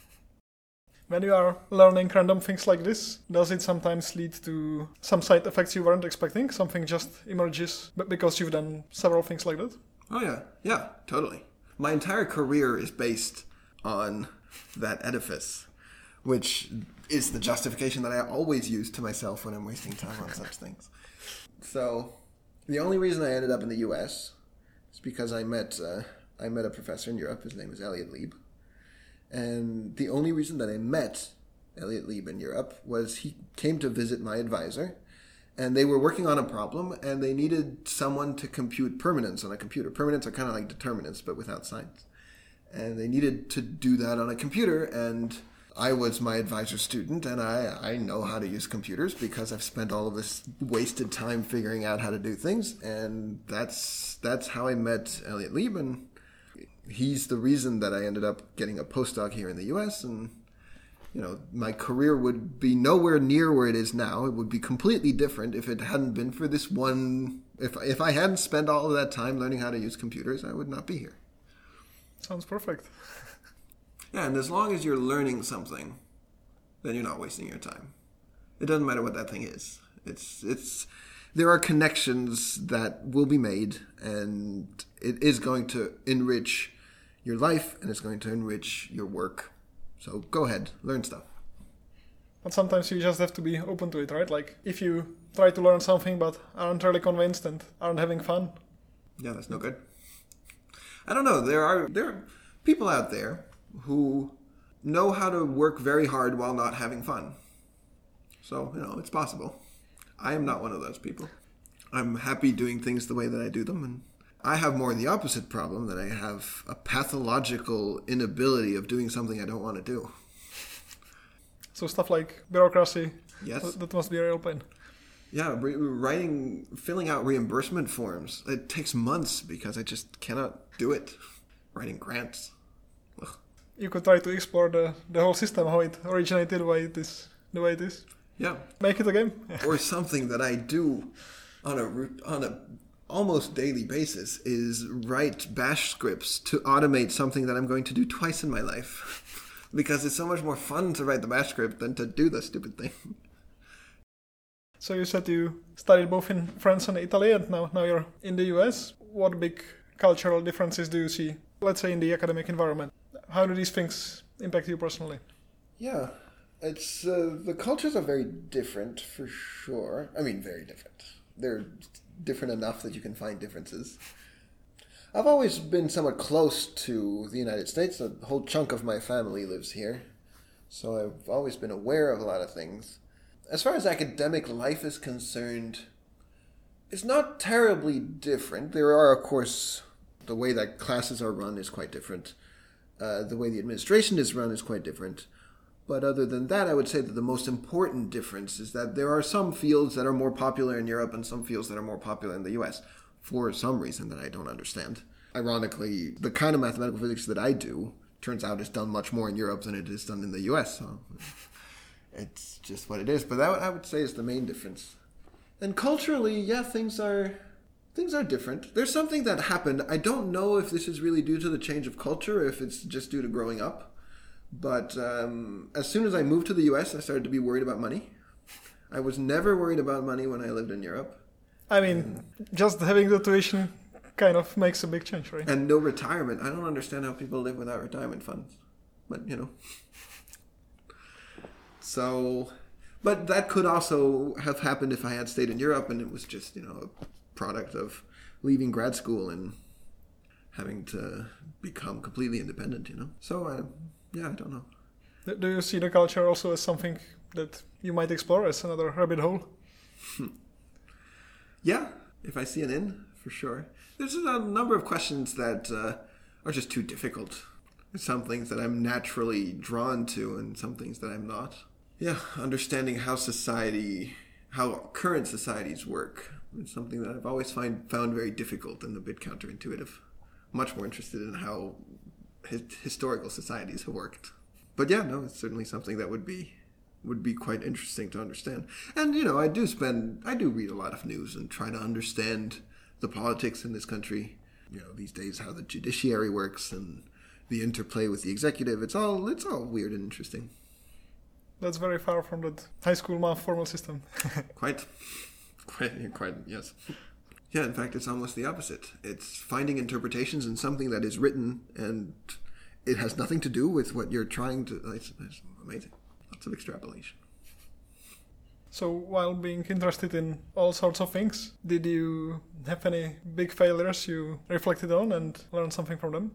When you are learning random things like this, does it sometimes lead to some side effects you weren't expecting? Something just emerges because you've done several things like that? Oh, yeah. Yeah, totally. My entire career is based on that edifice, which is the justification that I always use to myself when I'm wasting time on such things. So the only reason I ended up in the U S is because I met uh, I met a professor in Europe. His name is Elliot Lieb. And the only reason that I met Elliot Lieb in Europe was he came to visit my advisor, and they were working on a problem, and they needed someone to compute permanence on a computer. Permanents are kind of like determinants, but without signs. And they needed to do that on a computer, and I was my advisor's student, and I, I know how to use computers because I've spent all of this wasted time figuring out how to do things, and that's that's how I met Elliot Lieb, and he's the reason that I ended up getting a postdoc here in the U S, and you know, my career would be nowhere near where it is now. It would be completely different if it hadn't been for this one. If if I hadn't spent all of that time learning how to use computers, I would not be here. Sounds perfect. Yeah, and as long as you're learning something, then you're not wasting your time. It doesn't matter what that thing is. It's it's there are connections that will be made, and it is going to enrich your life, and it's going to enrich your work. So go ahead, learn stuff. But sometimes you just have to be open to it, right? Like if you try to learn something but aren't really convinced and aren't having fun. Yeah, that's no good. I don't know. There are there are people out there who know how to work very hard while not having fun. So, you know, it's possible. I am not one of those people. I'm happy doing things the way that I do them, and I have more the opposite problem, that I have a pathological inability of doing something I don't want to do. So stuff like bureaucracy, yes, th- that must be a real pain. Yeah, re- writing, filling out reimbursement forms, it takes months because I just cannot do it. Writing grants. Ugh. You could try to explore the, the whole system, how it originated, why it is the way it is. Yeah. Make it a game. Or something that I do on a on a almost daily basis is write bash scripts to automate something that I'm going to do twice in my life. Because it's so much more fun to write the bash script than to do the stupid thing. So you said you studied both in France and Italy, and now, now you're in the U S. What big cultural differences do you see, let's say, in the academic environment? How do these things impact you personally? Yeah, it's uh, the cultures are very different for sure. I mean, very different. They're different enough that you can find differences. I've always been somewhat close to the United States. A whole chunk of my family lives here. So I've always been aware of a lot of things. As far as academic life is concerned, it's not terribly different. There are, of course, the way that classes are run is quite different. Uh, the way the administration is run is quite different. But other than that, I would say that the most important difference is that there are some fields that are more popular in Europe and some fields that are more popular in the U S for some reason that I don't understand. Ironically, the kind of mathematical physics that I do turns out is done much more in Europe than it is done in the U S. So it's just what it is. But that I would say is the main difference. And culturally, yeah, things are things are different. There's something that happened. I don't know if this is really due to the change of culture or if it's just due to growing up. But um, as soon as I moved to the U S, I started to be worried about money. I was never worried about money when I lived in Europe. I mean, just having the tuition kind of makes a big change, right? And no retirement. I don't understand how people live without retirement funds. But, you know. So, but that could also have happened if I had stayed in Europe and it was just, you know, a product of leaving grad school and having to become completely independent, you know. So, uh, yeah, I don't know. Do you see the culture also as something that you might explore as another rabbit hole? Yeah, if I see an in, for sure. There's a number of questions that uh, are just too difficult. There's some things that I'm naturally drawn to and some things that I'm not. Yeah, understanding how society, how current societies work. It's something that I've always find, found very difficult and a bit counterintuitive. Much more interested in how his, historical societies have worked. But yeah, no, it's certainly something that would be would be quite interesting to understand. And, you know, I do spend, I do read a lot of news and try to understand the politics in this country. You know, these days how the judiciary works and the interplay with the executive. It's all, it's all weird and interesting. That's very far from that high school math formal system. Quite. Quite, quite, yes. Yeah, in fact, it's almost the opposite. It's finding interpretations in something that is written and it has nothing to do with what you're trying to... It's, it's amazing. Lots of extrapolation. So, while being interested in all sorts of things, did you have any big failures you reflected on and learned something from them?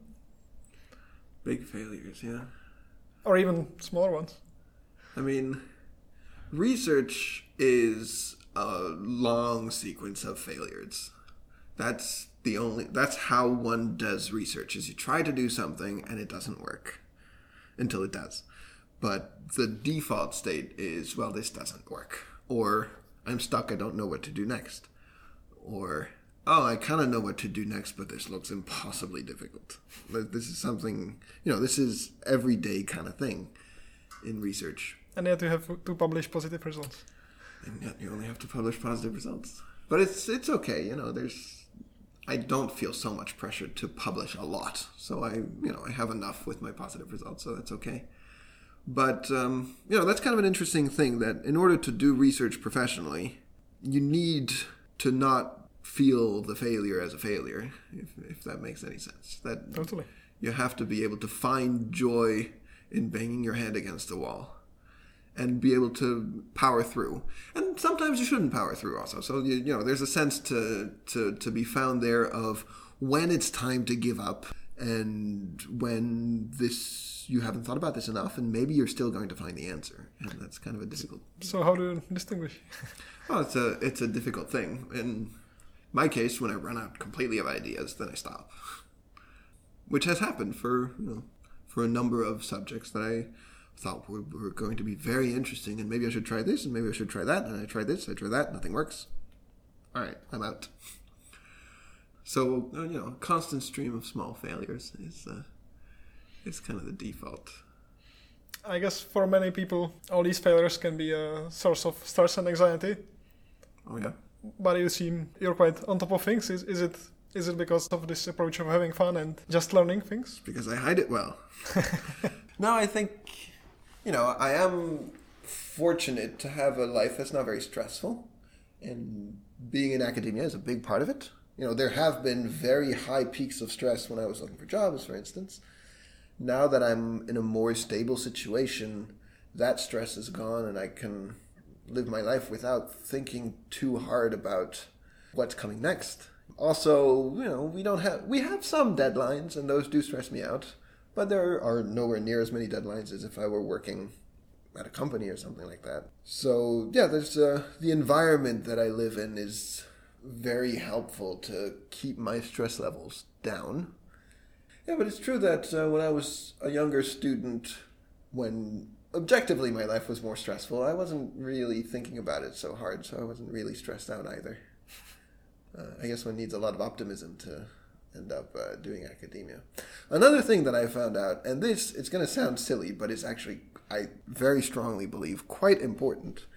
Big failures, yeah. Or even smaller ones? I mean, research is a long sequence of failures. That's the only, that's how one does research, is you try to do something and it doesn't work until it does. But the default state is, well, this doesn't work. Or, I'm stuck, I don't know what to do next. Or, oh, I kind of know what to do next, but this looks impossibly difficult. This is something, you know, this is everyday kind of thing in research. And yet you have to publish positive results. And yet you only have to publish positive results. But it's it's okay, you know, there's, I don't feel so much pressure to publish a lot. So I, you know, I have enough with my positive results, so that's okay. But, um, you know, that's kind of an interesting thing, that in order to do research professionally, you need to not feel the failure as a failure, if, if that makes any sense. That Totally. You have to be able to find joy in banging your head against the wall and be able to power through. And sometimes you shouldn't power through also. So, you, you know, there's a sense to, to, to be found there of when it's time to give up and when this... you haven't thought about this enough, and maybe you're still going to find the answer, and that's kind of a difficult. So how do you distinguish? Well, it's a it's a difficult thing. In my case, when I run out completely of ideas, then I stop, which has happened for you know for a number of subjects that I thought were, were going to be very interesting, and maybe I should try this, and maybe I should try that, and I tried this, I tried that, nothing works. All right, I'm out. So you know, a constant stream of small failures is. Uh, It's kind of the default. I guess for many people, all these failures can be a source of stress and anxiety. Oh yeah. But you seem you're quite on top of things. Is is it is it because of this approach of having fun and just learning things? Because I hide it well. No, I think, you know, I am fortunate to have a life that's not very stressful. And being in academia is a big part of it. You know, there have been very high peaks of stress when I was looking for jobs, for instance. Now that I'm in a more stable situation, that stress is gone and I can live my life without thinking too hard about what's coming next. Also, you know, we don't have, we have some deadlines and those do stress me out, but there are nowhere near as many deadlines as if I were working at a company or something like that. So yeah, there's uh, the environment that I live in is very helpful to keep my stress levels down. Yeah, but it's true that uh, when I was a younger student, when objectively my life was more stressful, I wasn't really thinking about it so hard, so I wasn't really stressed out either. Uh, I guess one needs a lot of optimism to end up uh, doing academia. Another thing that I found out, and this, it's going to sound silly, but it's actually, I very strongly believe, quite important,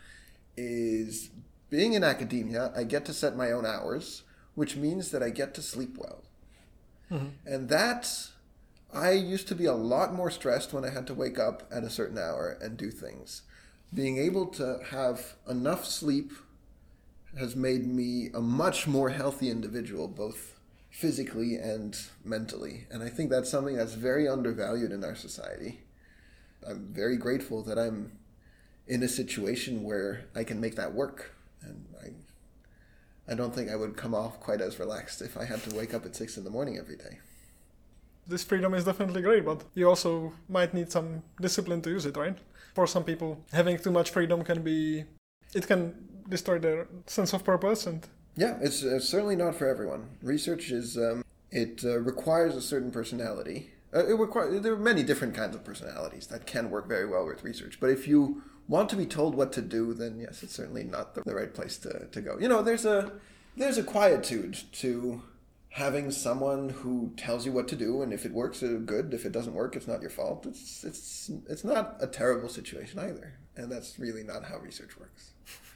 is being in academia, I get to set my own hours, which means that I get to sleep well. Mm-hmm. And that, I used to be a lot more stressed when I had to wake up at a certain hour and do things. Being able to have enough sleep has made me a much more healthy individual, both physically and mentally. And I think that's something that's very undervalued in our society. I'm very grateful that I'm in a situation where I can make that work. And I I don't think I would come off quite as relaxed if I had to wake up at six in the morning every day. this freedom is definitely great, but you also might need some discipline to use it, right? For some people, having too much freedom can be, it can destroy their sense of purpose. And yeah, it's, it's certainly not for everyone. Research is, um, it uh, requires a certain personality. Uh, it requires, there are many different kinds of personalities that can work very well with research. But if you want to be told what to do, then yes, it's certainly not the, the right place to, to go. You know, there's a there's a quietude to having someone who tells you what to do, and if it works, it's good. If it doesn't work, it's not your fault. It's it's it's not a terrible situation either, and that's really not how research works.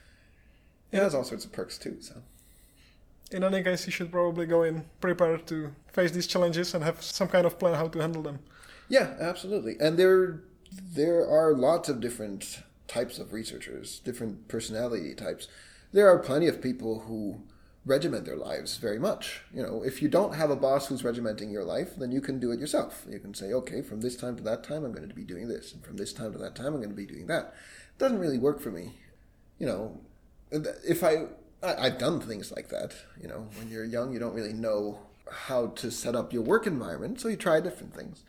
It has all sorts of perks too. So, in any case, you should probably go in prepared to face these challenges and have some kind of plan how to handle them. Yeah, absolutely. And there there are lots of different types of researchers, different personality types. There are plenty of people who regiment their lives very much. You know, if you don't have a boss who's regimenting your life, then you can do it yourself. You can say, okay, from this time to that time, I'm going to be doing this. And from this time to that time, I'm going to be doing that. It doesn't really work for me. You know, if I, I I've done things like that. You know, when you're young, you don't really know how to set up your work environment, so you try different things.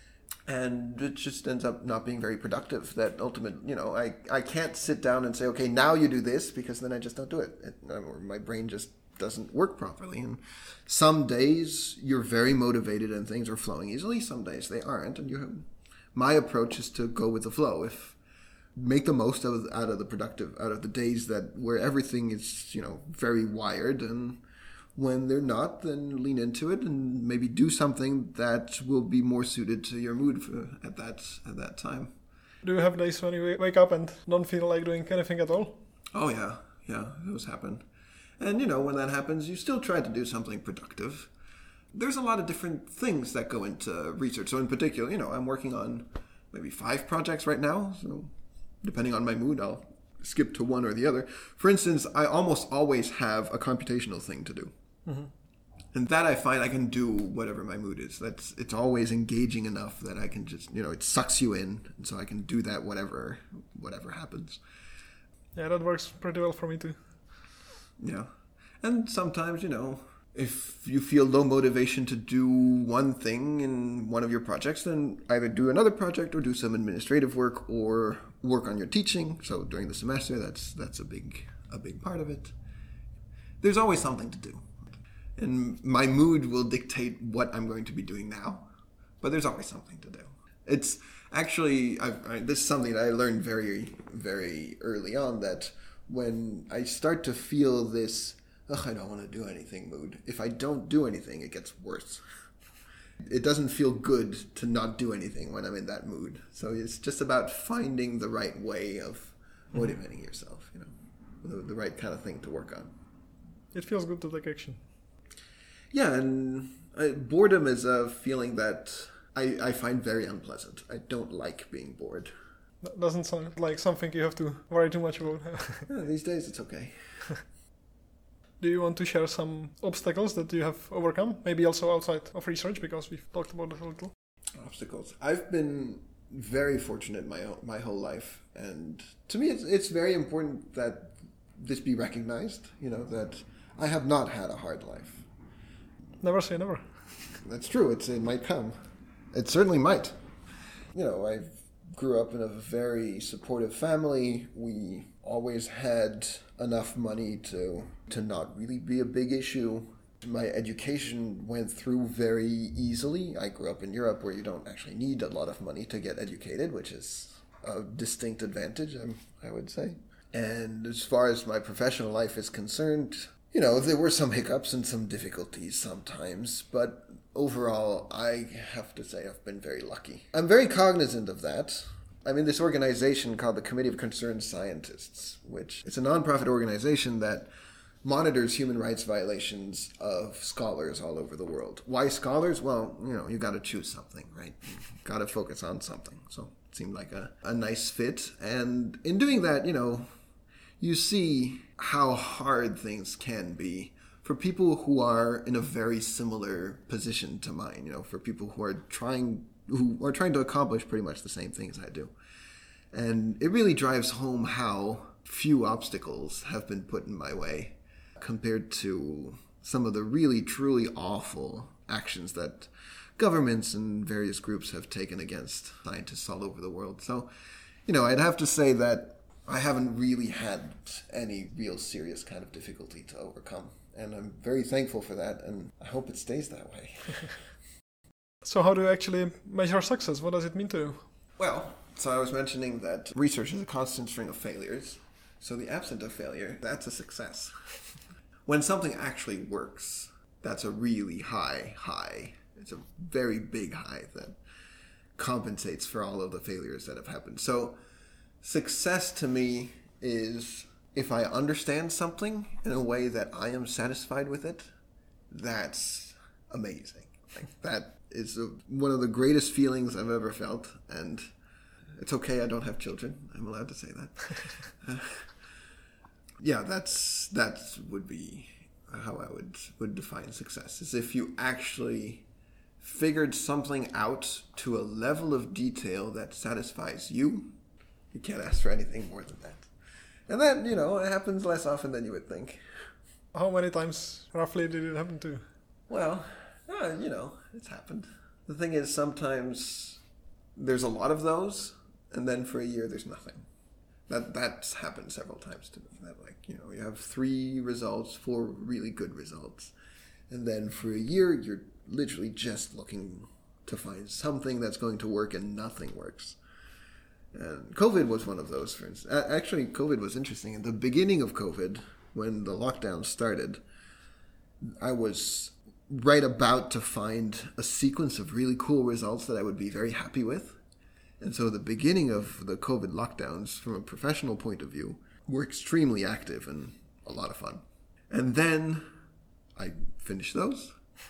And it just ends up not being very productive. That ultimate, you know, I, I can't sit down and say, okay, now you do this, because then I just don't do it. it or my brain just doesn't work properly. And some days you're very motivated and things are flowing easily. Some days they aren't. And you have, my approach is to go with the flow. If make the most of out of the productive, out of the days that where everything is, you know, very wired, and when they're not, then lean into it and maybe do something that will be more suited to your mood for, at that at that time. Do you have days when you wake up and don't feel like doing anything at all? Oh yeah, yeah, those happen. And you know, when that happens, you still try to do something productive. There's a lot of different things that go into research. So in particular, you know, I'm working on maybe five projects right now. So depending on my mood, I'll skip to one or the other. For instance, I almost always have a computational thing to do. Mm-hmm. And that I find I can do whatever my mood is. That's it's always engaging enough that I can just, you know, it sucks you in. And so I can do that whatever whatever happens. Yeah, that works pretty well for me too. Yeah. And sometimes, you know, if you feel low motivation to do one thing in one of your projects, then either do another project or do some administrative work or work on your teaching. So during the semester, that's that's a big a big part of it. There's always something to do. And my mood will dictate what I'm going to be doing now. But there's always something to do. It's actually, I've, I, this is something that I learned very, very early on, that when I start to feel this, ugh, I don't want to do anything mood, if I don't do anything, it gets worse. It doesn't feel good to not do anything when I'm in that mood. So it's just about finding the right way of motivating yourself, you know, the, the right kind of thing to work on. It feels good to take action. Yeah, and uh, boredom is a feeling that I, I find very unpleasant. I don't like being bored. That doesn't sound like something you have to worry too much about. Yeah, these days it's okay. Do you want to share some obstacles that you have overcome? Maybe also outside of research, because we've talked about it a little. Obstacles. I've been very fortunate my my whole life, and to me it's it's very important that this be recognized, you know, that I have not had a hard life. Never say never. That's true. It's, it might come. It certainly might. You know, I grew up in a very supportive family. We always had enough money to to not really be a big issue. My education went through very easily. I grew up in Europe, where you don't actually need a lot of money to get educated, which is a distinct advantage, I would say. And as far as my professional life is concerned, you know, there were some hiccups and some difficulties sometimes, but overall, I have to say I've been very lucky. I'm very cognizant of that. I'm in this organization called the Committee of Concerned Scientists, which is a nonprofit organization that monitors human rights violations of scholars all over the world. Why scholars? Well, you know, you got to choose something, right? Got to focus on something. So it seemed like a, a nice fit. And in doing that, you know, you see how hard things can be for people who are in a very similar position to mine, you know, for people who are trying who are trying to accomplish pretty much the same things I do. And it really drives home how few obstacles have been put in my way compared to some of the really, truly awful actions that governments and various groups have taken against scientists all over the world. So, you know, I'd have to say that I haven't really had any real serious kind of difficulty to overcome. And I'm very thankful for that, and I hope it stays that way. So how do you actually measure success? What does it mean to you? Well, so I was mentioning that research is a constant string of failures. So the absence of failure, that's a success. When something actually works, that's a really high high. It's a very big high that compensates for all of the failures that have happened. So success to me is if I understand something in a way that I am satisfied with it, that's amazing. Like that is a, one of the greatest feelings I've ever felt. And it's okay, I don't have children. I'm allowed to say that. uh, yeah, that's that would be how I would, would define success. Is if you actually figured something out to a level of detail that satisfies you. You can't ask for anything more than that. And that, you know, it happens less often than you would think. How many times roughly did it happen to you? Well, uh, you know, it's happened. The thing is, sometimes there's a lot of those, and then for a year there's nothing. That That's happened several times to me. That, like, you know, you have three results, four really good results, and then for a year you're literally just looking to find something that's going to work, and nothing works. And COVID was one of those, for instance. Actually, COVID was interesting. At the beginning of COVID, when the lockdown started, I was right about to find a sequence of really cool results that I would be very happy with. And so the beginning of the COVID lockdowns, from a professional point of view, were extremely active and a lot of fun. And then I finished those,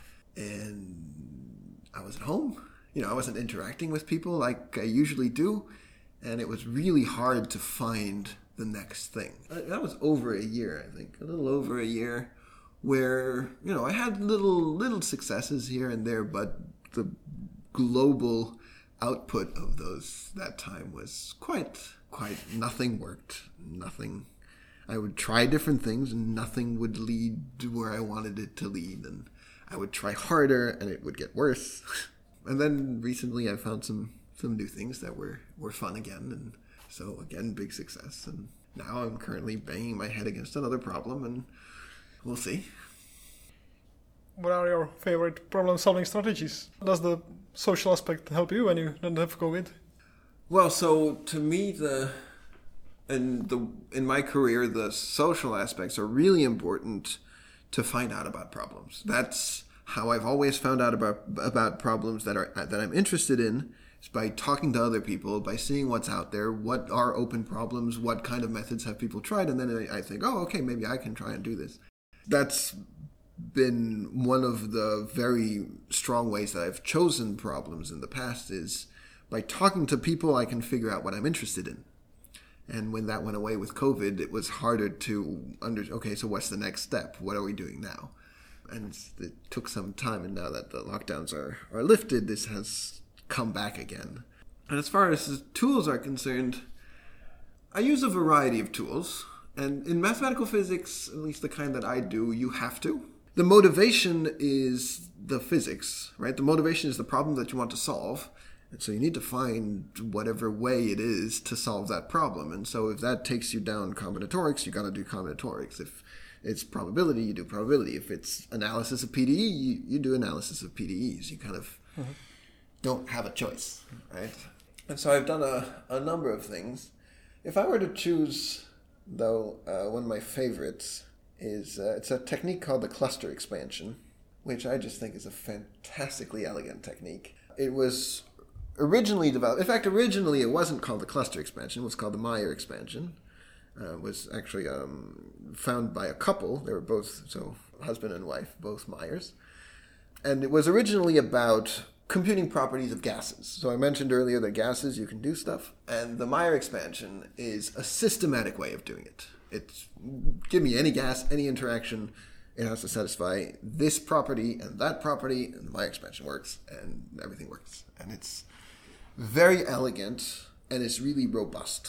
and I was at home. You know, I wasn't interacting with people like I usually do. And it was really hard to find the next thing. That was over a year, I think, a little over a year, where, you know, I had little little successes here and there, but the global output of those that time was quite, quite, nothing worked, nothing. I would try different things and nothing would lead to where I wanted it to lead. And I would try harder and it would get worse. And then recently I found some some new things that were, were fun again. And so, again, big success. And now I'm currently banging my head against another problem, and we'll see. What are your favorite problem-solving strategies? Does the social aspect help you when you don't have COVID? Well, so to me, the in the in my career, the social aspects are really important to find out about problems. That's how I've always found out about about problems that are that I'm interested in. By talking to other people, by seeing what's out there, what are open problems, what kind of methods have people tried, and then I think, oh, okay, maybe I can try and do this. That's been one of the very strong ways that I've chosen problems in the past, is by talking to people I can figure out what I'm interested in. And when that went away with COVID, it was harder to under okay, so what's the next step? What are we doing now? And it took some time, and now that the lockdowns are, are lifted, this has come back again. And as far as tools are concerned, I use a variety of tools. And in mathematical physics, at least the kind that I do, you have to. The motivation is the physics, right? The motivation is the problem that you want to solve. And so you need to find whatever way it is to solve that problem. And so if that takes you down combinatorics, you got to do combinatorics. If it's probability, you do probability. If it's analysis of P D E, you, you do analysis of P D Es. You kind of mm-hmm. don't have a choice, right? And so I've done a, a number of things. If I were to choose, though, uh, one of my favorites is, uh, it's a technique called the cluster expansion, which I just think is a fantastically elegant technique. It was originally developed, in fact, originally it wasn't called the cluster expansion, it was called the Meyer expansion. Uh, it was actually um, found by a couple. They were both, so husband and wife, both Meyers. And it was originally about computing properties of gases. So I mentioned earlier that gases, you can do stuff. And the Meyer expansion is a systematic way of doing it. It's, give me any gas, any interaction, it has to satisfy this property and that property, and the Meyer expansion works, and everything works. And it's very elegant, and it's really robust.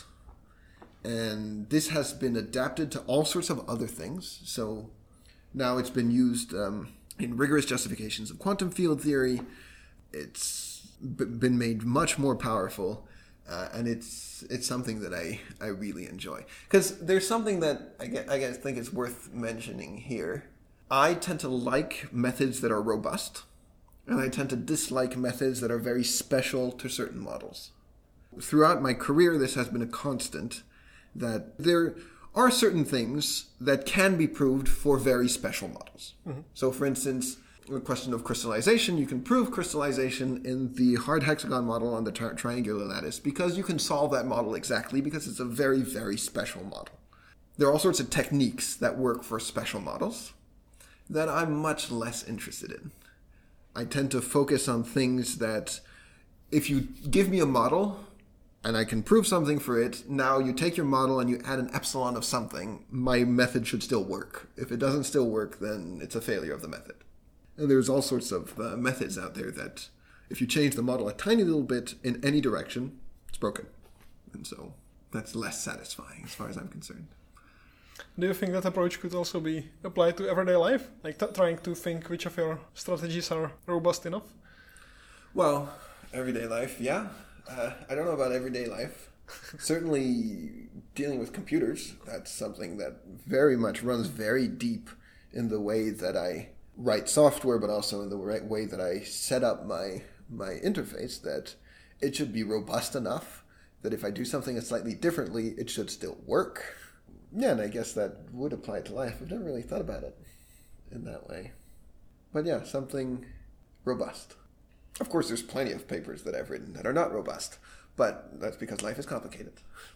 And this has been adapted to all sorts of other things. So now it's been used um, in rigorous justifications of quantum field theory. it's b- been made much more powerful, uh, and it's it's something that I, I really enjoy. Because there's something that I guess, I guess think is worth mentioning here. I tend to like methods that are robust, and I tend to dislike methods that are very special to certain models. Throughout my career, this has been a constant, that there are certain things that can be proved for very special models. Mm-hmm. So, for instance, the question of crystallization, you can prove crystallization in the hard hexagon model on the tri- triangular lattice because you can solve that model exactly because it's a very, very special model. There are all sorts of techniques that work for special models that I'm much less interested in. I tend to focus on things that if you give me a model and I can prove something for it, now you take your model and you add an epsilon of something, my method should still work. If it doesn't still work, then it's a failure of the method. And there's all sorts of uh, methods out there that if you change the model a tiny little bit in any direction, it's broken. And so that's less satisfying as far as I'm concerned. Do you think that approach could also be applied to everyday life? Like t- trying to think which of your strategies are robust enough? Well, everyday life, yeah. Uh, I don't know about everyday life. Certainly dealing with computers, that's something that very much runs very deep in the way that I write software, but also in the right way that I set up my my interface, that it should be robust enough that if I do something slightly differently, it should still work. Yeah, and I guess that would apply to life. I've never really thought about it in that way. But yeah, something robust. Of course, there's plenty of papers that I've written that are not robust, but that's because life is complicated.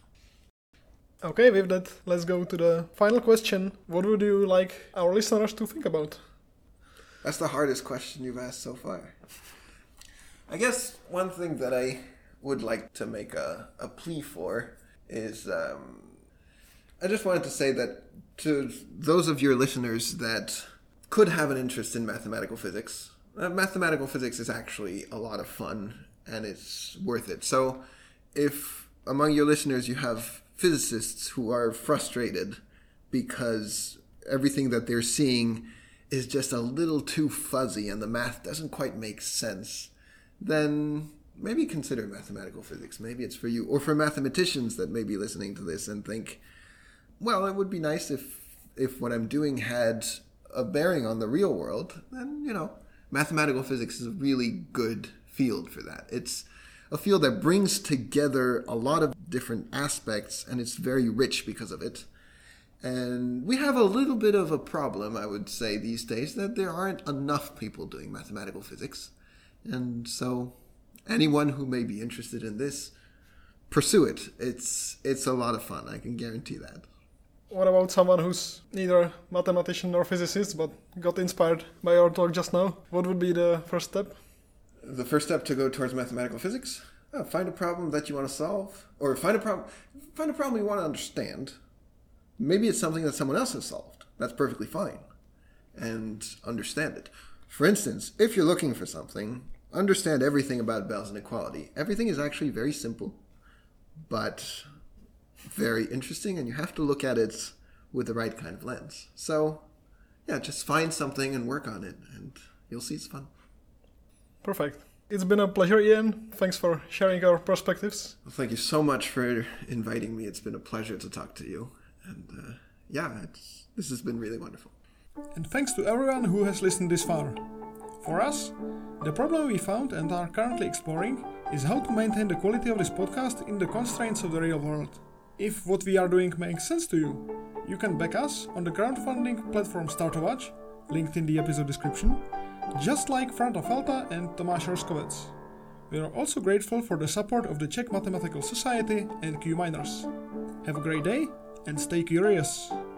Okay, with that, let's go to the final question. What would you like our listeners to think about? That's the hardest question you've asked so far. I guess one thing that I would like to make a, a plea for is, um, I just wanted to say that to those of your listeners that could have an interest in mathematical physics, Uh, mathematical physics is actually a lot of fun, and it's worth it. So if among your listeners you have physicists who are frustrated because everything that they're seeing is just a little too fuzzy and the math doesn't quite make sense, then maybe consider mathematical physics. Maybe it's for you. Or for mathematicians that may be listening to this and think, well, it would be nice if if what I'm doing had a bearing on the real world, then, you know, mathematical physics is a really good field for that. It's a field that brings together a lot of different aspects, and it's very rich because of it. And we have a little bit of a problem, I would say, these days, that there aren't enough people doing mathematical physics. And so anyone who may be interested in this, pursue it. It's it's a lot of fun, I can guarantee that. What about someone who's neither a mathematician nor physicist, but got inspired by our talk just now? What would be the first step? The first step to go towards mathematical physics? Oh, find a problem that you want to solve. Or find a problem find a problem you want to understand. Maybe it's something that someone else has solved. That's perfectly fine. And understand it. For instance, if you're looking for something, understand everything about Bell's inequality. Everything is actually very simple, but very interesting, and you have to look at it with the right kind of lens. So, yeah, just find something and work on it, and you'll see it's fun. Perfect. It's been a pleasure, Ian. Thanks for sharing our perspectives. Well, thank you so much for inviting me. It's been a pleasure to talk to you. And, uh, yeah, it's, this has been really wonderful. And thanks to everyone who has listened this far. For us, the problem we found and are currently exploring is how to maintain the quality of this podcast in the constraints of the real world. If what we are doing makes sense to you, you can back us on the crowdfunding platform Startovač, linked in the episode description, just like Franta Felta and Tomáš Roskovec. We are also grateful for the support of the Czech Mathematical Society and Q Miners. Have a great day and stay curious!